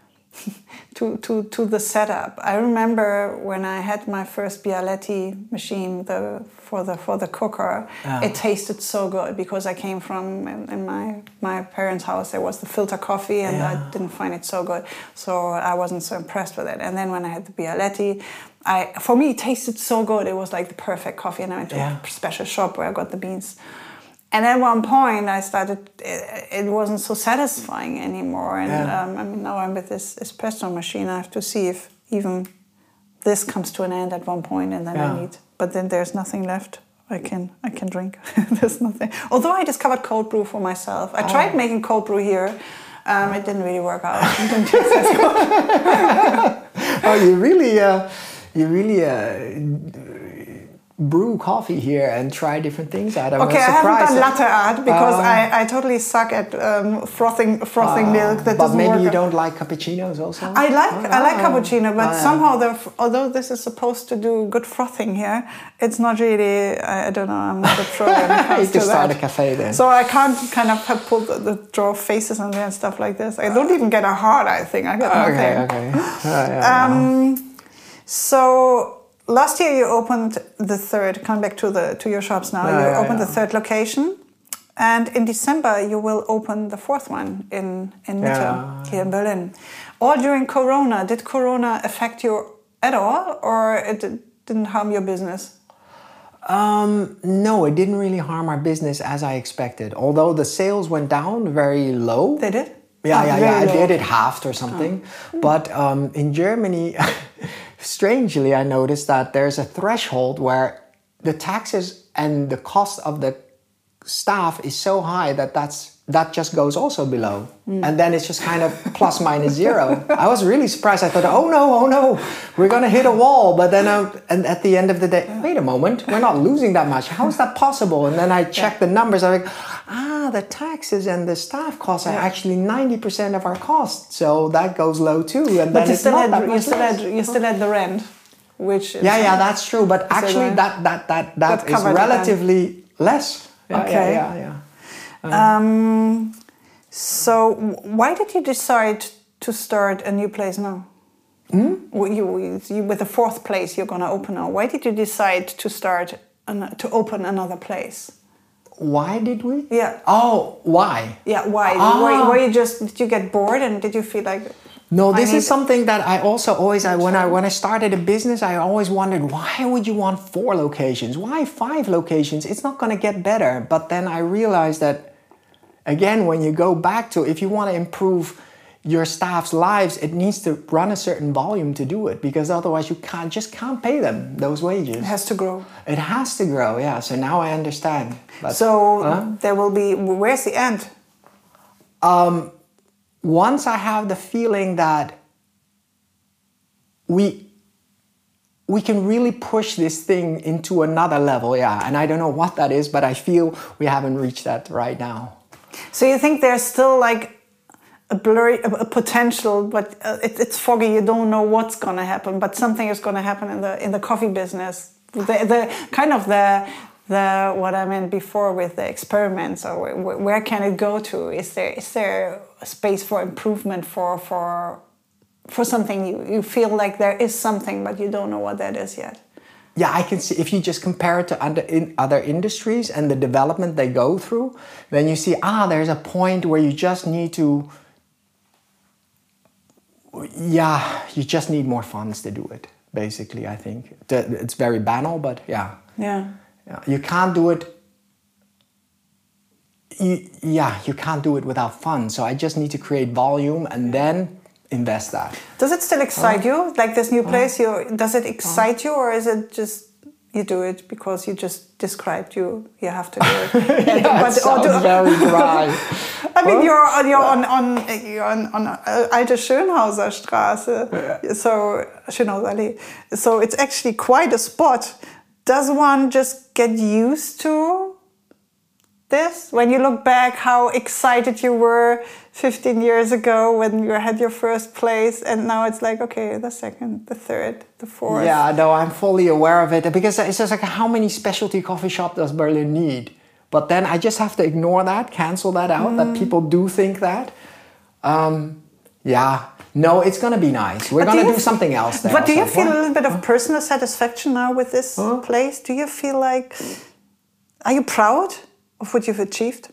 to to to the setup. I remember when I had my first Bialetti machine, the for the for the cooker, oh. It tasted so good because I came from in, in my my parents' house. There was the filter coffee, and yeah. I didn't find it so good, so I wasn't so impressed with it. And then when I had the Bialetti, I, for me, it tasted so good. It was like the perfect coffee, and I went to yeah. a special shop where I got the beans. And at one point, I started. It, it wasn't so satisfying anymore, and yeah. um, I mean, now I'm with this espresso machine. I have to see if even this comes to an end at one point, and then yeah. I need. But then there's nothing left. I can I can drink. There's nothing. Although I discovered cold brew for myself. I tried oh. making cold brew here. Um, it didn't really work out. It didn't taste as good. Oh, you really. Uh... You really uh, brew coffee here and try different things out. I'm okay, I haven't done latte art because uh, I, I totally suck at um, frothing frothing uh, milk. That but doesn't maybe work. you don't like cappuccinos also? I like oh, I like oh, cappuccino, but oh, yeah. somehow the although this is supposed to do good frothing here, it's not really. I, I don't know. I'm not a pro when it comes you to can start that. a cafe then. So I can't kind of have pull the, the draw faces on there and stuff like this. I don't even get a heart. I think I get nothing. Okay, okay. Oh, yeah, um, so. Last year you opened the third, come back to the to your shops now, yeah, you yeah, opened yeah. the third location, and in December you will open the fourth one in, in Mitte, yeah. here in Berlin. All during Corona. Did Corona affect you at all, or it didn't harm your business? Um, no, it didn't really harm our business as I expected, although the sales went down very low. They did? Yeah, oh, yeah, yeah, I did it halved or something. Oh. But um, in Germany... Strangely, I noticed that there's a threshold where the taxes and the cost of the staff is so high that that's, that just goes also below. Mm. And then it's just kind of plus minus zero. I was really surprised. I thought, oh no, oh no, we're going to hit a wall. But then I, and at the end of the day, wait a moment, we're not losing that much. How is that possible? And then I checked yeah. the numbers. I'm like, ah, yeah, the taxes and the staff costs are yeah. actually ninety percent of our costs, so that goes low too. And but then you it's still not had that you much still less. had you still had the rent, which is yeah, yeah, that's true. But actually, so that that that that, that is relatively less. Yeah, okay. Yeah, yeah, yeah. Um, um, so why did you decide to start a new place now? Hmm? You, you, with the fourth place you're going to open now. Why did you decide to start an, to open another place? Why did we? Yeah. Oh, why? Yeah, why? Ah. Were, were you just did you get bored and did you feel like? No, this is something that I also always I, when I when I started a business I always wondered, why would you want four locations? Why five locations? It's not going to get better. But then I realized that again, when you go back to if you want to improve your staff's lives, it needs to run a certain volume to do it, because otherwise you can't just can't pay them those wages. It has to grow. It has to grow, yeah. So now I understand. But, so huh? there will be. Where's the end? Um, once I have the feeling that we we can really push this thing into another level, yeah. And I don't know what that is, but I feel we haven't reached that right now. So you think there's still like a blurry a, a potential, but uh, it, it's foggy. You don't know what's going to happen, but something is going to happen in the in the coffee business. The the kind of the the what I meant before with the experiments, or where, where can it go to? Is there is there a space for improvement for for for something you you feel like there is something, but you don't know what that is yet? Yeah, I can see, if you just compare it to under, in other industries and the development they go through, then you see, ah, there's a point where you just need to, yeah, you just need more funds to do it, basically, I think. It's very banal, but yeah. Yeah. yeah. You can't do it, you, yeah, you can't do it without funds. So I just need to create volume and then invest that. Does it still excite uh, you, like this new place? Uh, you does it excite uh, you, or is it just you do it because you just described you you have to do it? yeah, but, it sounds do, very dry. I mean, huh? you're you're on on you're on, on Alte Schönhauser Straße, yeah. so Schönhauser Allee. So it's actually quite a spot. Does one just get used to this? When you look back, how excited you were fifteen years ago when you had your first place, and now it's like, okay, the second, the third, the fourth. Yeah, no, I'm fully aware of it, because it's just like, how many specialty coffee shops does Berlin need? But then I just have to ignore that, cancel that out, mm. that people do think that. Um, yeah, no, it's going to be nice. We're going to do, do something else there. But do you like, feel what? a little bit of personal satisfaction now with this huh? place? Do you feel like, are you proud of what you've achieved?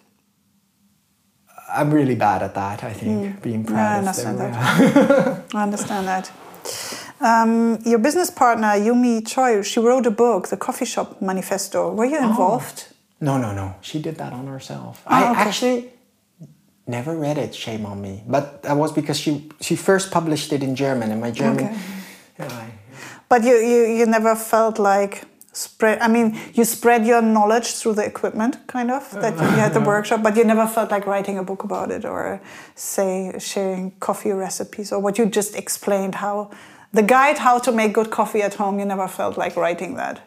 I'm really bad at that, I think, mm. being proud. Yeah, I understand that. Yeah. I understand that. Um, your business partner, Yumi Choi, she wrote a book, The Coffee Shop Manifesto. Were you involved? Oh. No, no, no. She did that on herself. Oh, I okay. actually never read it, shame on me. But that was because she she first published it in German, and my German... Okay. Yeah, I, but you, you, you never felt like... spread. I mean, you spread your knowledge through the equipment, kind of, that you had the workshop, but you never felt like writing a book about it, or say sharing coffee recipes, or what you just explained, how the guide how to make good coffee at home. You never felt like writing that.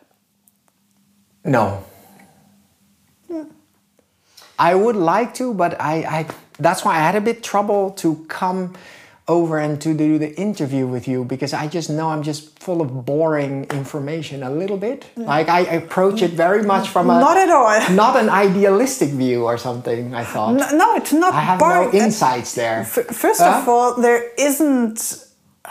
No. Hmm. I would like to, but I, I that's why I had a bit trouble to come over and to do the interview with you, because I just know I'm just full of boring information a little bit. Like I approach it very much from a... Not at all. Not an idealistic view or something, I thought. No, no it's not I have boring. no insights there. F- first huh? of all, there isn't...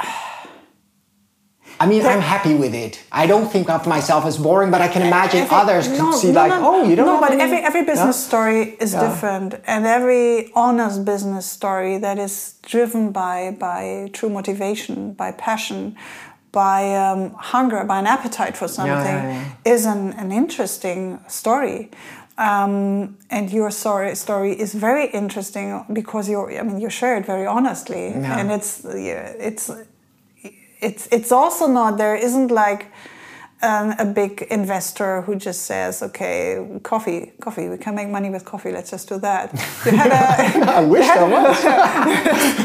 I mean, I'm happy with it. I don't think of myself as boring, but I can imagine every, others could no, see no, like, no, oh, you don't no, have but any... every every business yeah? story is yeah. different, and every honest business story that is driven by by true motivation, by passion, by um, hunger, by an appetite for something, yeah, yeah, yeah. is an, an interesting story. Um, and your story story is very interesting because you I mean you share it very honestly, yeah. and it's yeah, it's. It's it's also not, there isn't like um, a big investor who just says, okay, coffee, coffee, we can make money with coffee, let's just do that. You had a, I wish there was.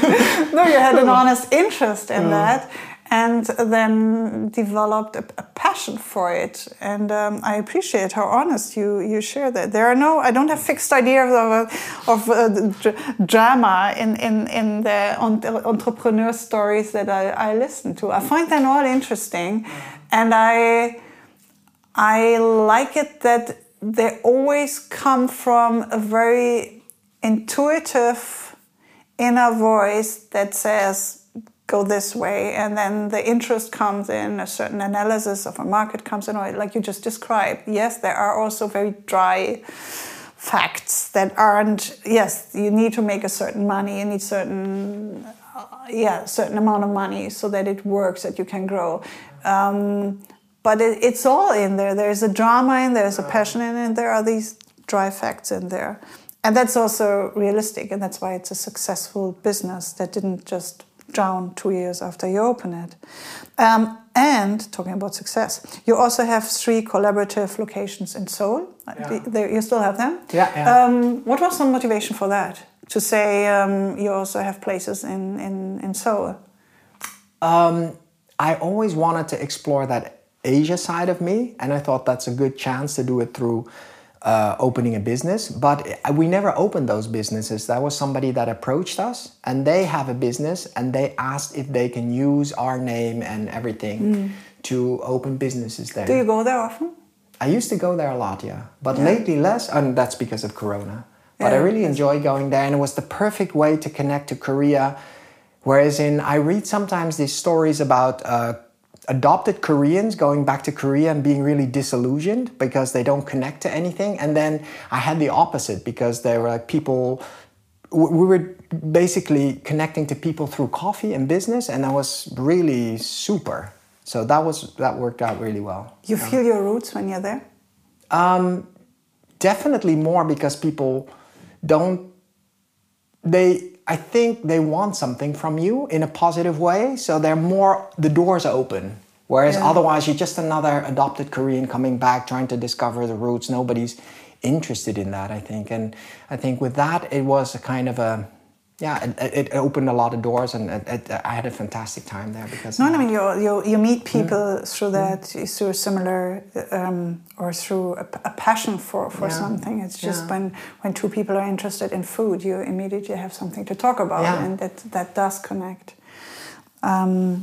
No, you had an honest interest in mm. that, and then developed a, a passion passion for it, and um, I appreciate how honest you, you share that. There are no, I don't have fixed ideas of of uh, drama in in in the entrepreneur stories that I, I listen to. I find them all interesting, and I I like it that they always come from a very intuitive inner voice that says, go this way, and then the interest comes in, a certain analysis of a market comes in, or like you just described. Yes, there are also very dry facts that aren't, yes, you need to make a certain money, you need certain, uh, yeah, certain amount of money so that it works, that you can grow. Um, but it, it's all in there. There's a drama in there, there's a passion in it, there are these dry facts in there. And that's also realistic, and that's why it's a successful business that didn't just drown two years after you open it. Um, and talking about success, you also have three collaborative locations in Seoul. Yeah. They, you still have them? Yeah. yeah. Um, what was the motivation for that? To say um, you also have places in, in, in Seoul? Um, I always wanted to explore that Asia side of me, and I thought that's a good chance to do it through Uh, opening a business, but we never opened those businesses. That was somebody that approached us, and they have a business, and they asked if they can use our name and everything mm. to open businesses there. Do you go there often? I used to go there a lot, yeah, but yeah. lately less, and that's because of Corona. But yeah. I really enjoy going there, and it was the perfect way to connect to Korea. Whereas in, I read sometimes these stories about uh, adopted Koreans going back to Korea and being really disillusioned because they don't connect to anything. And then I had the opposite, because there were like people, we were basically connecting to people through coffee and business, and that was really super. So that was that worked out really well. You yeah. feel your roots when you're there? Um, definitely more, because people don't, they, I think they want something from you in a positive way, so they're more, the doors are open. Whereas yeah. otherwise you're just another adopted Korean coming back, trying to discover the roots. Nobody's interested in that, I think. And I think with that, it was a kind of a, yeah, it, it opened a lot of doors, and it, it, I had a fantastic time there. Because no, I mean, you you you meet people mm. through that, mm. through a similar, um, or through a, a passion for, for yeah. something. It's just yeah. when, when two people are interested in food, you immediately have something to talk about, yeah. and that, that does connect. Um,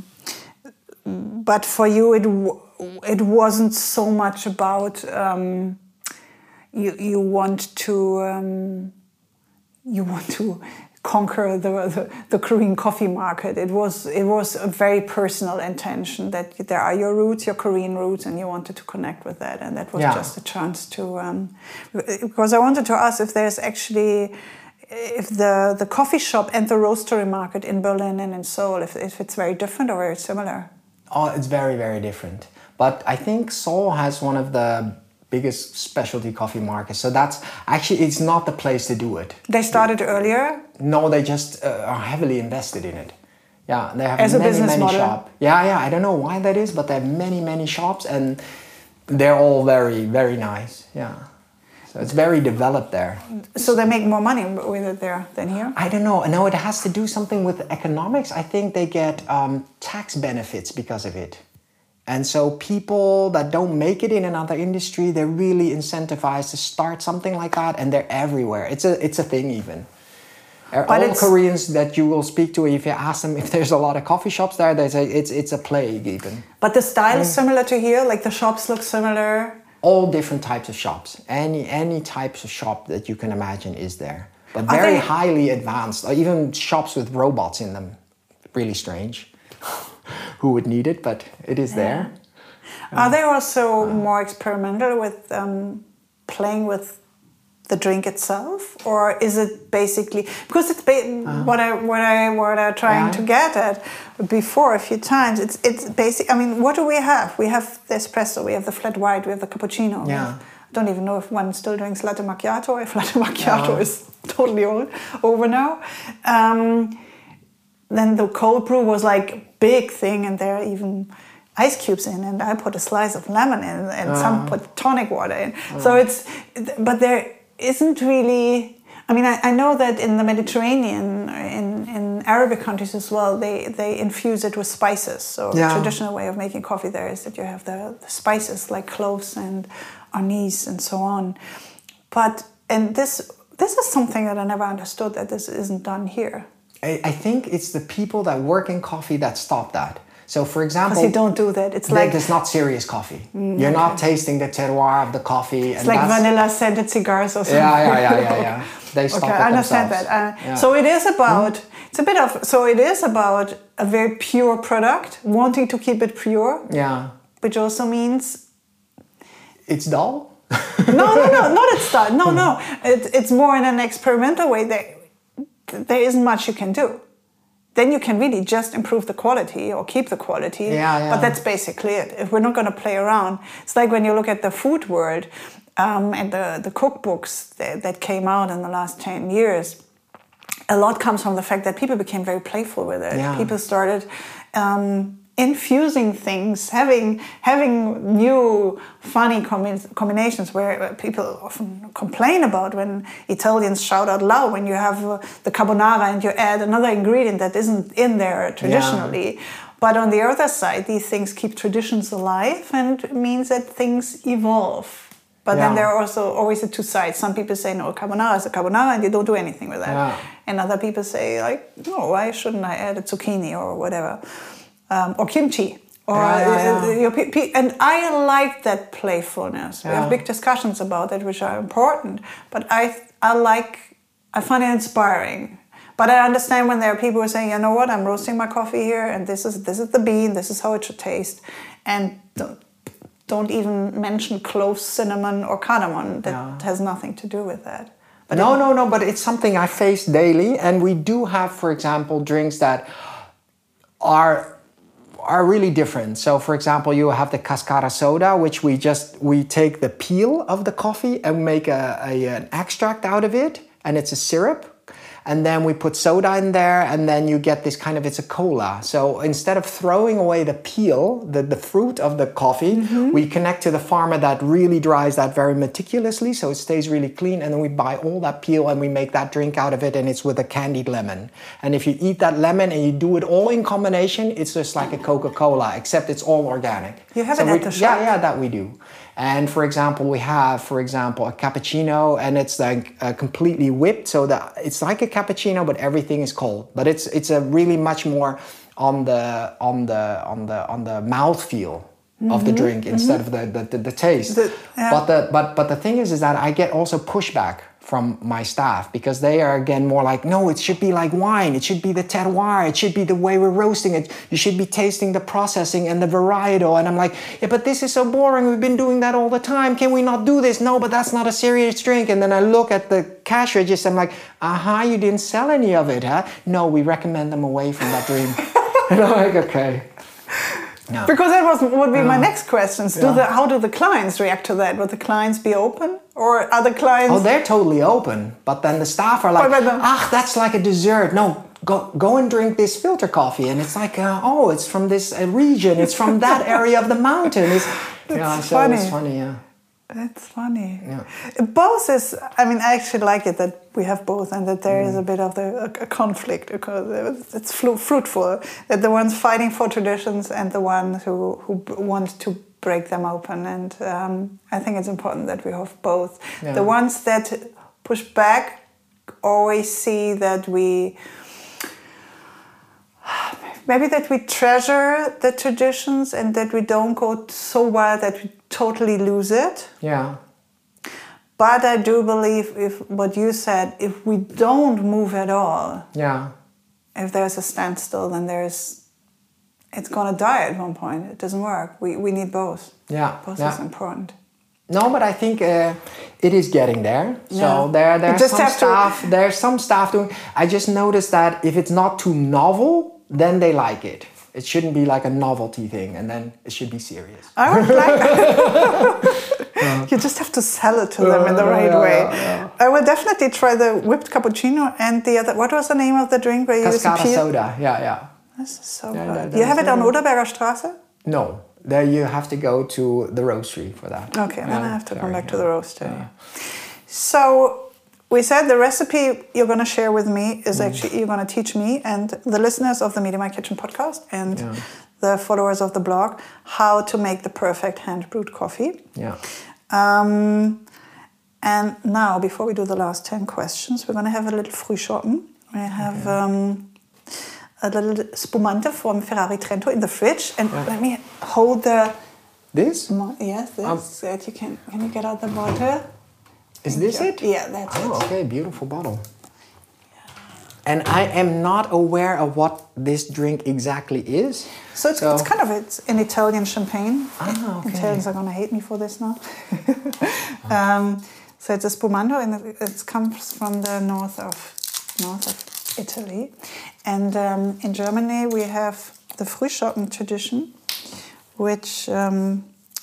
but for you, it w- it wasn't so much about um, you you want to um, you want to. conquer the, the the Korean coffee market. It was it was a very personal intention that there are your roots, your Korean roots, and you wanted to connect with that, and that was yeah. just a chance to. Um, because I wanted to ask if there's actually if the the coffee shop and the roastery market in Berlin and in Seoul, if if it's very different or very similar. Oh, it's very very different. But I think Seoul has one of the biggest specialty coffee markets. So that's actually, it's not the place to do it. They started earlier? No, they just uh, are heavily invested in it. Yeah, they have As many, a business many model. shops. Yeah, yeah, I don't know why that is, but they have many, many shops, and they're all very, very nice. Yeah. So it's very developed there. So they make more money with it there than here? I don't know. No, it has to do something with economics. I think they get um, tax benefits because of it. And so people that don't make it in another industry, they're really incentivized to start something like that, and they're everywhere. It's a it's a thing even. But all Koreans that you will speak to, if you ask them if there's a lot of coffee shops there, they say it's it's a plague even. But the style is similar to here? Like the shops look similar? All different types of shops. Any any types of shop that you can imagine is there. But very highly advanced. Even shops with robots in them. Really strange. Who would need it, but it is there. Yeah. Are they also uh, more experimental with um, playing with the drink itself, or is it basically because it's ba- uh, what I what I what I'm trying yeah. to get at before a few times? It's it's basic. I mean, what do we have? We have the espresso, we have the flat white, we have the cappuccino. Yeah. Have, I don't even know if one still drinks latte macchiato. If latte macchiato no. is totally old, over now. Um, then the cold brew was like a big thing, and there are even ice cubes in, and I put a slice of lemon in, and uh, some put tonic water in. Uh, so it's, but there isn't really. I mean, I, I know that in the Mediterranean, in in Arabic countries as well, they, they infuse it with spices. So Yeah. the traditional way of making coffee there is that you have the, the spices like cloves and anise and so on. But, and this this is something that I never understood, that this isn't done here. I, I think it's the people that work in coffee that stop that. So, for example, because you don't do that. It's like it's not serious coffee. Mm, You're okay. not tasting the terroir of the coffee. It's and like that's, vanilla scented cigars or something. Yeah, yeah, yeah, yeah, yeah. They stop Okay, it I understand themselves. that. Uh, Yeah. So it is about. It's a bit of. So it is about a very pure product, wanting to keep it pure, Yeah, which also means it's dull. no, no, no, not it's done. No, no. It, it's more in an experimental way. There, there isn't much you can do. Then you can really just improve the quality or keep the quality. Yeah, yeah. But that's basically it. If we're not going to play around, it's like when you look at the food world um, and the, the cookbooks that, that came out in the last ten years. A lot comes from the fact that people became very playful with it. Yeah. People started um, infusing things, having having new funny combi- combinations where people often complain about when Italians shout out loud when you have uh, the carbonara and you add another ingredient that isn't in there traditionally. Yeah. But on the other side, these things keep traditions alive and it means that things evolve. But yeah. then there are also always the two sides. Some people say, no, carbonara is a carbonara and you don't do anything with that. Yeah. And other people say, like, no, why shouldn't I add a zucchini or whatever? Um, or kimchi. Or yeah, yeah, yeah. And I like that playfulness. Yeah. We have big discussions about it, which are important. But I I like, I find it inspiring. But I understand when there are people who are saying, you know what, I'm roasting my coffee here and this is this is the bean, this is how it should taste. And don't, don't even mention cloves, cinnamon or cardamom. That yeah. has nothing to do with that. But no, it, no, no, but it's something I face daily. And we do have, for example, drinks that are are really different. So, for example, you have the cascara soda, which we just, we take the peel of the coffee and make a, a an extract out of it. And it's a syrup. And then we put soda in there and then you get this kind of, it's a cola. So instead of throwing away the peel, the, the fruit of the coffee, mm-hmm. we connect to the farmer that really dries that very meticulously so it stays really clean. And then we buy all that peel and we make that drink out of it and it's with a candied lemon. And if you eat that lemon and you do it all in combination, it's just like a Coca-Cola, except it's all organic. You have so it we, at the shop? Yeah, yeah, that we do. And for example, we have, for example, a cappuccino and it's like uh, completely whipped. So that it's like a cappuccino, but everything is cold. But it's it's a really much more on the on the on the on the mouthfeel mm-hmm. of the drink mm-hmm. instead of the the, the, the taste. The, yeah. But the but but the thing is is that I get also pushback from my staff because they are again more like, no, it should be like wine. It should be the terroir. It should be the way we're roasting it. You should be tasting the processing and the varietal. And I'm like, yeah, but this is so boring. We've been doing that all the time. Can we not do this? No, but that's not a serious drink. And then I look at the cash register. I'm like, aha, you didn't sell any of it, huh? No, we recommend them away from that drink. And I'm like, okay. No. Because that was would be my next questions. Do yeah. the, how do the clients react to that? Would the clients be open, or are the clients? Oh, they're totally open. But then the staff are like, "Ah, that's like a dessert. No, go go and drink this filter coffee." And it's like, uh, "Oh, it's from this uh, region. It's from that area of the mountain." It's yeah, so funny. It's funny, yeah. That's funny. Yeah. Both is, I mean, I actually like it that we have both and that there mm. is a bit of the, a, a conflict because it's flu- fruitful. That the ones fighting for traditions and the ones who, who want to break them open. And um, I think it's important that we have both. Yeah. The ones that push back always see that we... Maybe that we treasure the traditions and that we don't go so wild that we totally lose it. Yeah. But I do believe if what you said, if we don't move at all, yeah, if there's a standstill, then there's, it's gonna die at one point. It doesn't work. We we need both. Yeah. Both yeah. is important. No, but I think uh, it is getting there. So yeah. there, there's just some staff. To... There's some staff doing. I just noticed that if it's not too novel, then they like it. It shouldn't be like a novelty thing, and then it should be serious. I would like that. You just have to sell it to them in the right yeah, way. Yeah, yeah. I will definitely try the whipped cappuccino and the other. What was the name of the drink where you use Cascara soda. Yeah, yeah. This is so yeah, good. that, you have it on Oderberger Straße? No, there you have to go to the roastery for that. Okay, then yeah, I have to sorry, come back yeah. to the roastery. Yeah. So, we said the recipe you're going to share with me is mm. actually you're going to teach me and the listeners of the Meet in My Kitchen podcast and yeah. the followers of the blog how to make the perfect hand-brewed coffee. Yeah. Um, and now, before we do the last ten questions, we're going to have a little Frühschoppen. We have okay. um, a little spumante from Ferrari Trento in the fridge. And yeah. let me hold the... This? Yes, this. Um, so that you can, can you get out the bottle? Is Thank this you. it? Yeah, that's oh, it. Oh, okay, beautiful bottle. And I am not aware of what this drink exactly is. So it's, so. it's kind of it's an Italian champagne. Ah, okay. Italians are going to hate me for this now. um, so it's a spumando, and it, it comes from the north of north of Italy. And um, in Germany we have the Frühschoppen tradition, which um,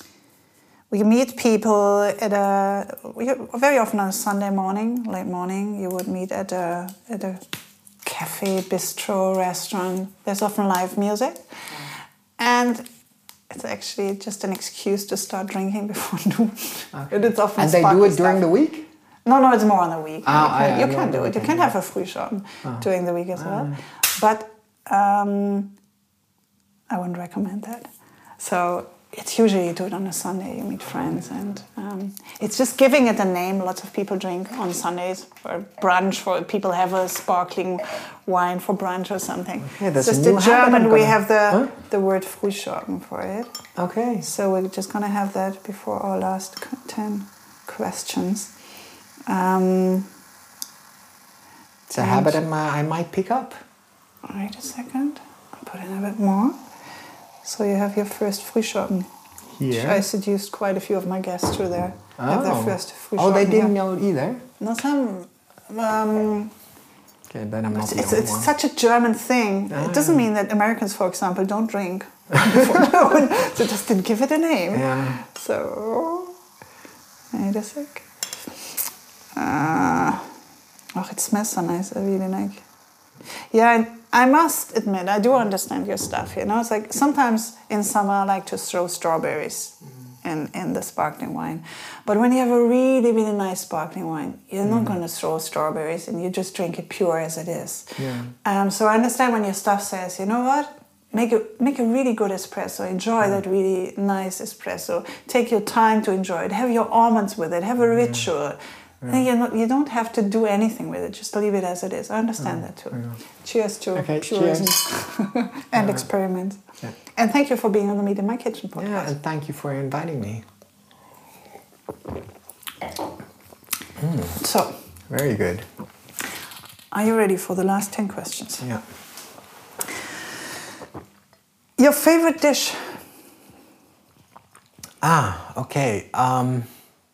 we meet people at a very often on a Sunday morning, late morning. You would meet at a at a cafe, bistro, restaurant. There's often live music, and it's actually just an excuse to start drinking before noon. Okay. And it's often and they do it during stuff. the week? No, no, it's more on the week. Ah, you can, I, I you can do it. You can have a Frühschoppen ah. during the week as well. Ah. But um, I wouldn't recommend that. So it's usually you do it on a Sunday, you meet friends, and um, it's just giving it a name. Lots of people drink on Sundays for brunch, for people have a sparkling wine for brunch or something. Okay, that's just a new in German, we gonna... have the, huh? the word Frühschoppen for it. Okay. So we're just going to have that before our last ten questions. Um, it's a habit I might pick up. Wait a second, I'll put in a bit more. So you have your first Frühschoppen. Here. I seduced quite a few of my guests through there. Oh. Have their first Frühschoppen. Oh, they didn't here. know it either? No, some... Um, okay, then I'm not the it's, only it's one. such a German thing. Ah, it doesn't yeah. mean that Americans, for example, don't drink before noon. So just didn't give it a name. Yeah. So... Wait a sec. Uh, oh, it smells so nice. I really like. Yeah, I must admit, I do understand your stuff. You know, it's like sometimes in summer I like to throw strawberries mm. in in the sparkling wine, but when you have a really really nice sparkling wine, you're mm. not going to throw strawberries, and you just drink it pure as it is. Yeah. Um. So I understand when your stuff says, you know what. Make a, make a really good espresso. Enjoy mm. that really nice espresso. Take your time to enjoy it. Have your almonds with it. Have a ritual. Yeah. And you're not, you don't have to do anything with it. Just leave it as it is. I understand yeah. that too. Yeah. Cheers to okay, purism cheers. and yeah. experiment. Yeah. And thank you for being on the Meet in My Kitchen podcast. Yeah, and thank you for inviting me. Mm. So, very good. Are you ready for the last ten questions? Yeah. Your favorite dish? Ah, okay. Um,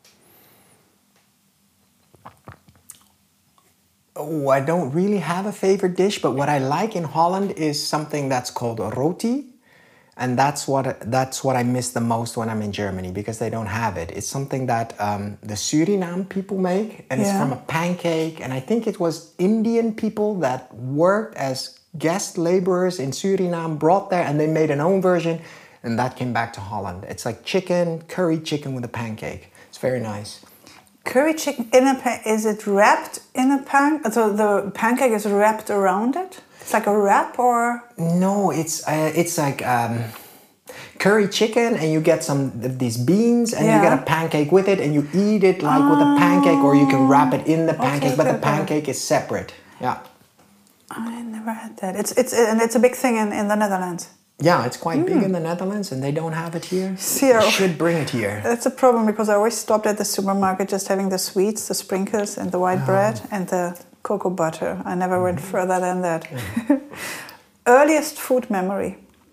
oh, I don't really have a favorite dish, but what I like in Holland is something that's called roti, and that's what that's what I miss the most when I'm in Germany, because they don't have it. It's something that um, the Suriname people make, and yeah. it's from a pancake. And I think it was Indian people that worked as guest laborers in Suriname, brought there, and they made an own version, and that came back to Holland. It's like chicken, curry chicken with a pancake. It's very nice. Curry chicken in a pan, is it wrapped in a pan? So the pancake is wrapped around it? It's like a wrap, or? No, it's uh, it's like um, curry chicken, and you get some of these beans, and yeah. you get a pancake with it, and you eat it like oh. with a pancake, or you can wrap it in the pancake, okay, but okay, the pancake okay. is separate. Yeah. I never had that. It's it's and it's a big thing in, in the Netherlands. Yeah, it's quite mm. big in the Netherlands, and they don't have it here. See, you should bring it here. That's a problem, because I always stopped at the supermarket just having the sweets, the sprinkles, and the white oh. bread, and the cocoa butter. I never mm. went further than that. Yeah. Earliest food memory?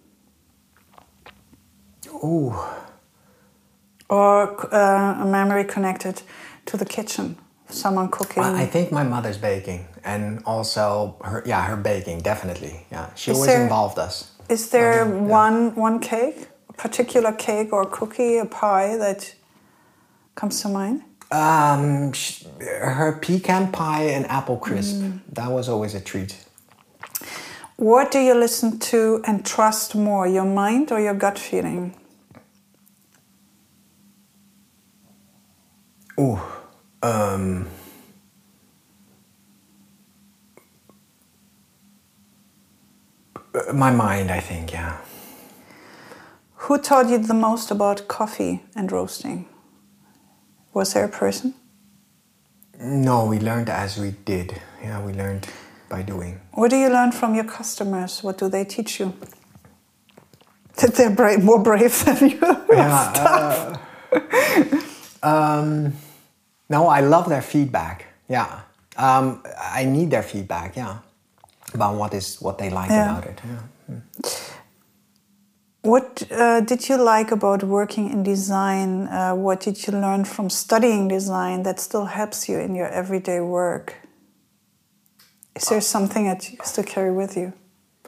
Ooh. Or uh, a memory connected to the kitchen? Someone cooking? I think my mother's baking, and also her, yeah, her baking, definitely. Yeah, she is always there, involved us. Is there um, one yeah. one cake, a particular cake or cookie, a pie that comes to mind? Um, she, her pecan pie and apple crisp. Mm. That was always a treat. What do you listen to and trust more, your mind or your gut feeling? Ooh. Um, Uh, my mind, I think, yeah. Who taught you the most about coffee and roasting? Was there a person? No, we learned as we did. Yeah, we learned by doing. What do you learn from your customers? What do they teach you? That they're brave, more brave than you. Yeah, uh, um, no, I love their feedback. Yeah, um, I need their feedback. Yeah, about what is what they like yeah. about it. Yeah. Mm. What uh, did you like about working in design? Uh, what did you learn from studying design that still helps you in your everyday work? Is there something that you still carry with you?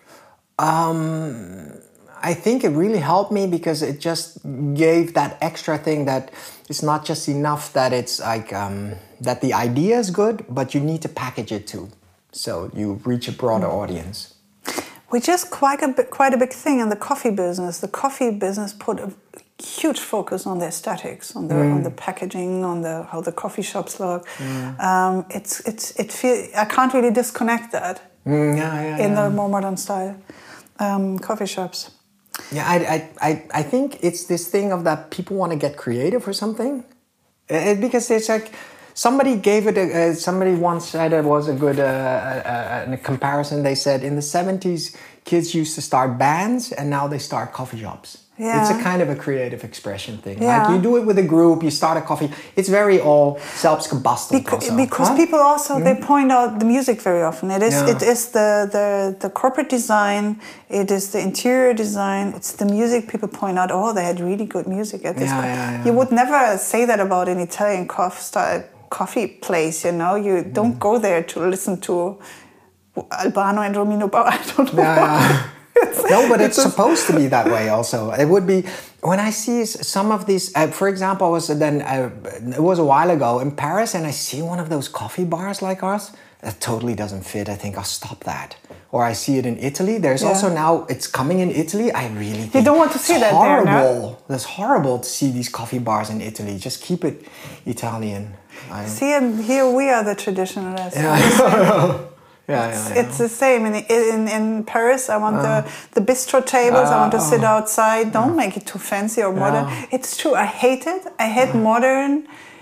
Um, I think it really helped me because it just gave that extra thing that it's not just enough that it's like um, that the idea is good, but you need to package it too, so you reach a broader mm. audience. Which is quite a bit, quite a big thing in the coffee business. The coffee business put a huge focus on the aesthetics, on the mm. on the packaging, on the how the coffee shops look. Mm. Um, it's it's it feel I can't really disconnect that mm, yeah, yeah, in yeah. the more modern style um, coffee shops. Yeah, I, I I think it's this thing of that people want to get creative or something, it, because it's like. Somebody gave it, a, uh, somebody once said it was a good uh, uh, uh, comparison. They said in the seventies, kids used to start bands and now they start coffee shops. Yeah. It's a kind of a creative expression thing. Yeah. Like you do it with a group, you start a coffee. It's very all self-combusting. Because, also. because huh? people also, mm-hmm. they point out the music very often. It is yeah. it is the, the, the corporate design, it is the interior design, it's the music. People point out, oh, they had really good music at this yeah, point. Yeah, yeah. You would never say that about an Italian coffee style coffee place, you know, you mm. don't go there to listen to Albano and Romino Bauer. I don't know. Yeah, yeah. No, but it's, it's supposed to be that way also. It would be, when I see some of these, uh, for example, I was then, uh, it was a while ago in Paris and I see one of those coffee bars like ours. That totally doesn't fit. I think I'll stop that. Or I see it in Italy. There's yeah. also now, it's coming in Italy. I really think you don't want to see that horrible. there, no? That's horrible to see these coffee bars in Italy. Just keep it Italian. I, see, and here we are the traditionalists. Yeah, yeah, yeah, it's, yeah. it's the same. In, in, in Paris, I want uh, the, the bistro tables. Uh, I want to sit outside. Don't uh, make it too fancy or modern. Yeah. It's true. I hate it. I hate uh, modern,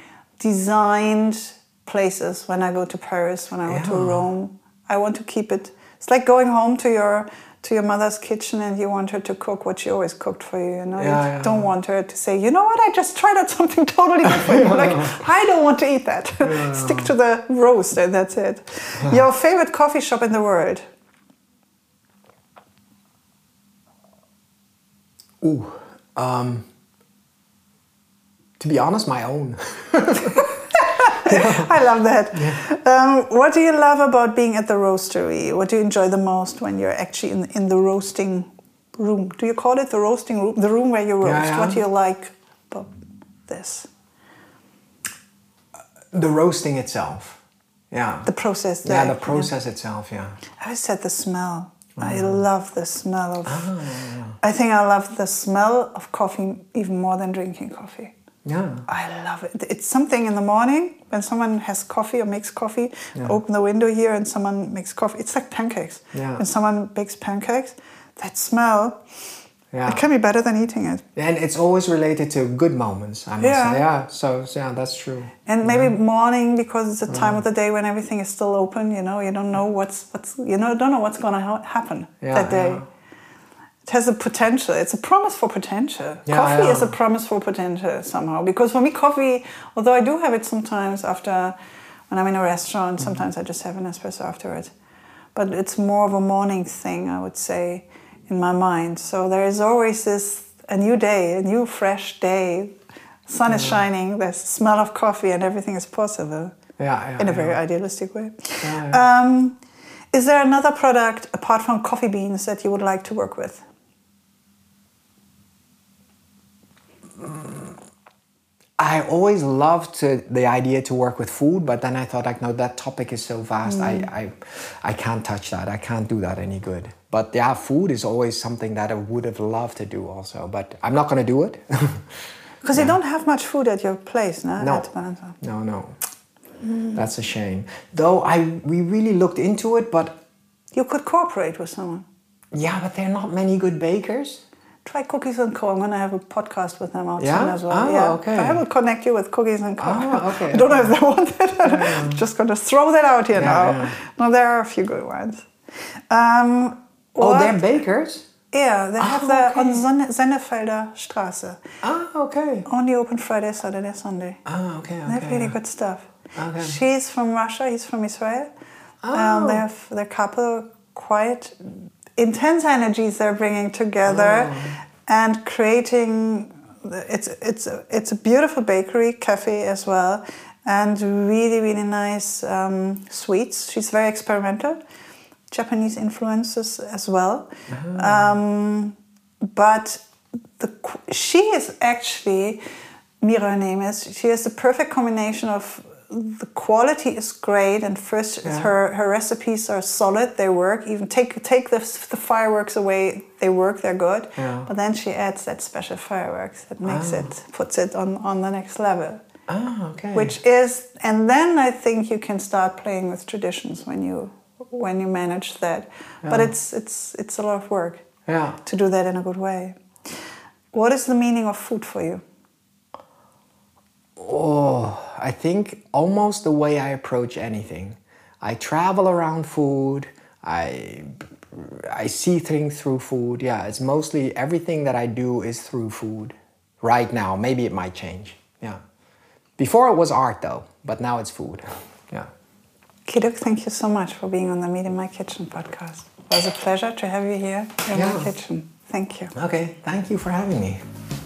designed places when I go to Paris, when I go yeah. to Rome. I want to keep it. It's like going home to your to your mother's kitchen and you want her to cook what she always cooked for you. You know, yeah, you yeah. don't want her to say, you know what, I just tried out something totally different. Like, I don't want to eat that. Yeah. Stick to the roast and that's it. Yeah. Your favorite coffee shop in the world? Ooh, um, to be honest, my own. I love that. Yeah. Um, what do you love about being at the roastery? What do you enjoy the most when you're actually in, in the roasting room? Do you call it the roasting room? The room where you roast. Yeah, yeah. What do you like about this? The roasting itself. Yeah. The process. There. Yeah, the process yeah. itself, yeah. I said the smell. Mm. I love the smell of... Oh, yeah, yeah. I think I love the smell of coffee even more than drinking coffee. Yeah. I love it. It's something in the morning when someone has coffee or makes coffee, yeah. open the window here and someone makes coffee. It's like pancakes. Yeah. When someone bakes pancakes, that smell, yeah. it can be better than eating it. And it's always related to good moments, I must yeah. say. Yeah, so, so yeah, that's true. And maybe yeah. morning, because it's a time yeah. of the day when everything is still open, you know, you don't know what's, what's you know, don't know what's going to ha- happen yeah, that day. Yeah. It has a potential. It's a promise for potential. Yeah, coffee yeah. is a promise for potential somehow. Because for me, coffee, although I do have it sometimes after, when I'm in a restaurant, mm-hmm. sometimes I just have an espresso afterwards. But it's more of a morning thing, I would say, in my mind. So there is always this, a new day, a new fresh day. Sun is yeah. shining, there's the smell of coffee and everything is possible. Yeah, yeah, in a yeah. very idealistic way. Yeah, yeah. Um, is there another product, apart from coffee beans, that you would like to work with? I always loved to, the idea to work with food, but then I thought, like, no, that topic is so vast. Mm. I, I, I can't touch that. I can't do that any good. But yeah, food is always something that I would have loved to do also. But I'm not going to do it. Because yeah. you don't have much food at your place, no? No, at no, no. Mm. That's a shame. Though I, we really looked into it, but... You could cooperate with someone. Yeah, but there are not many good bakers. Try Cookies and Co. I'm going to have a podcast with them out Yeah? soon as well. Oh, yeah. okay. I will connect you with Cookies and Co. Oh, okay. I don't know okay. if they want it. Yeah. I'm just going to throw that out here Yeah, now. yeah. No, there are a few good ones. Um, Oh, what- they're bakers? Yeah, they Oh, have the okay. on Sonne- Sennefelder Straße. Ah, okay. Only open Friday, Saturday, Sunday. Ah, okay, okay. They have really good stuff. Okay. She's from Russia, he's from Israel. Oh. Um, they have their couple quite intense energies they're bringing together Oh. and creating. It's it's a, it's a beautiful bakery cafe as well, and really really nice um, sweets. She's very experimental, Japanese influences as well. Oh. Um, but the she is actually. Mira, her name is. She has the perfect combination of the quality is great, and first Yeah. her her recipes are solid. They work. Even take take the the fireworks away, they work. They're good. Yeah. But then she adds that special fireworks that makes Ah. it puts it on on the next level. Ah, okay. Which is, and then I think you can start playing with traditions when you when you manage that. But Yeah. it's it's it's a lot of work Yeah. to do that in a good way. What is the meaning of food for you? Oh, I think almost the way I approach anything. I travel around food. I I see things through food. Yeah, it's mostly everything that I do is through food. Right now, maybe it might change. Yeah. Before it was art though, but now it's food. Yeah. Kiduk, thank you so much for being on the Meet in My Kitchen podcast. It was a pleasure to have you here in Yeah. my kitchen. Thank you. Okay, thank you for having me.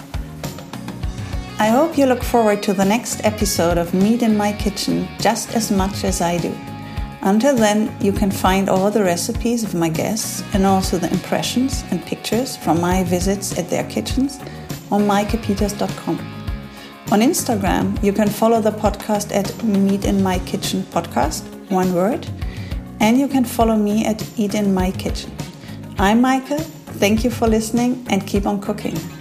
I hope you look forward to the next episode of Meet in My Kitchen just as much as I do. Until then, you can find all the recipes of my guests and also the impressions and pictures from my visits at their kitchens on maike peters dot com. On Instagram, you can follow the podcast at Meet in My Kitchen Podcast, one word, and you can follow me at Eat in My Kitchen. I'm Maike, thank you for listening and keep on cooking.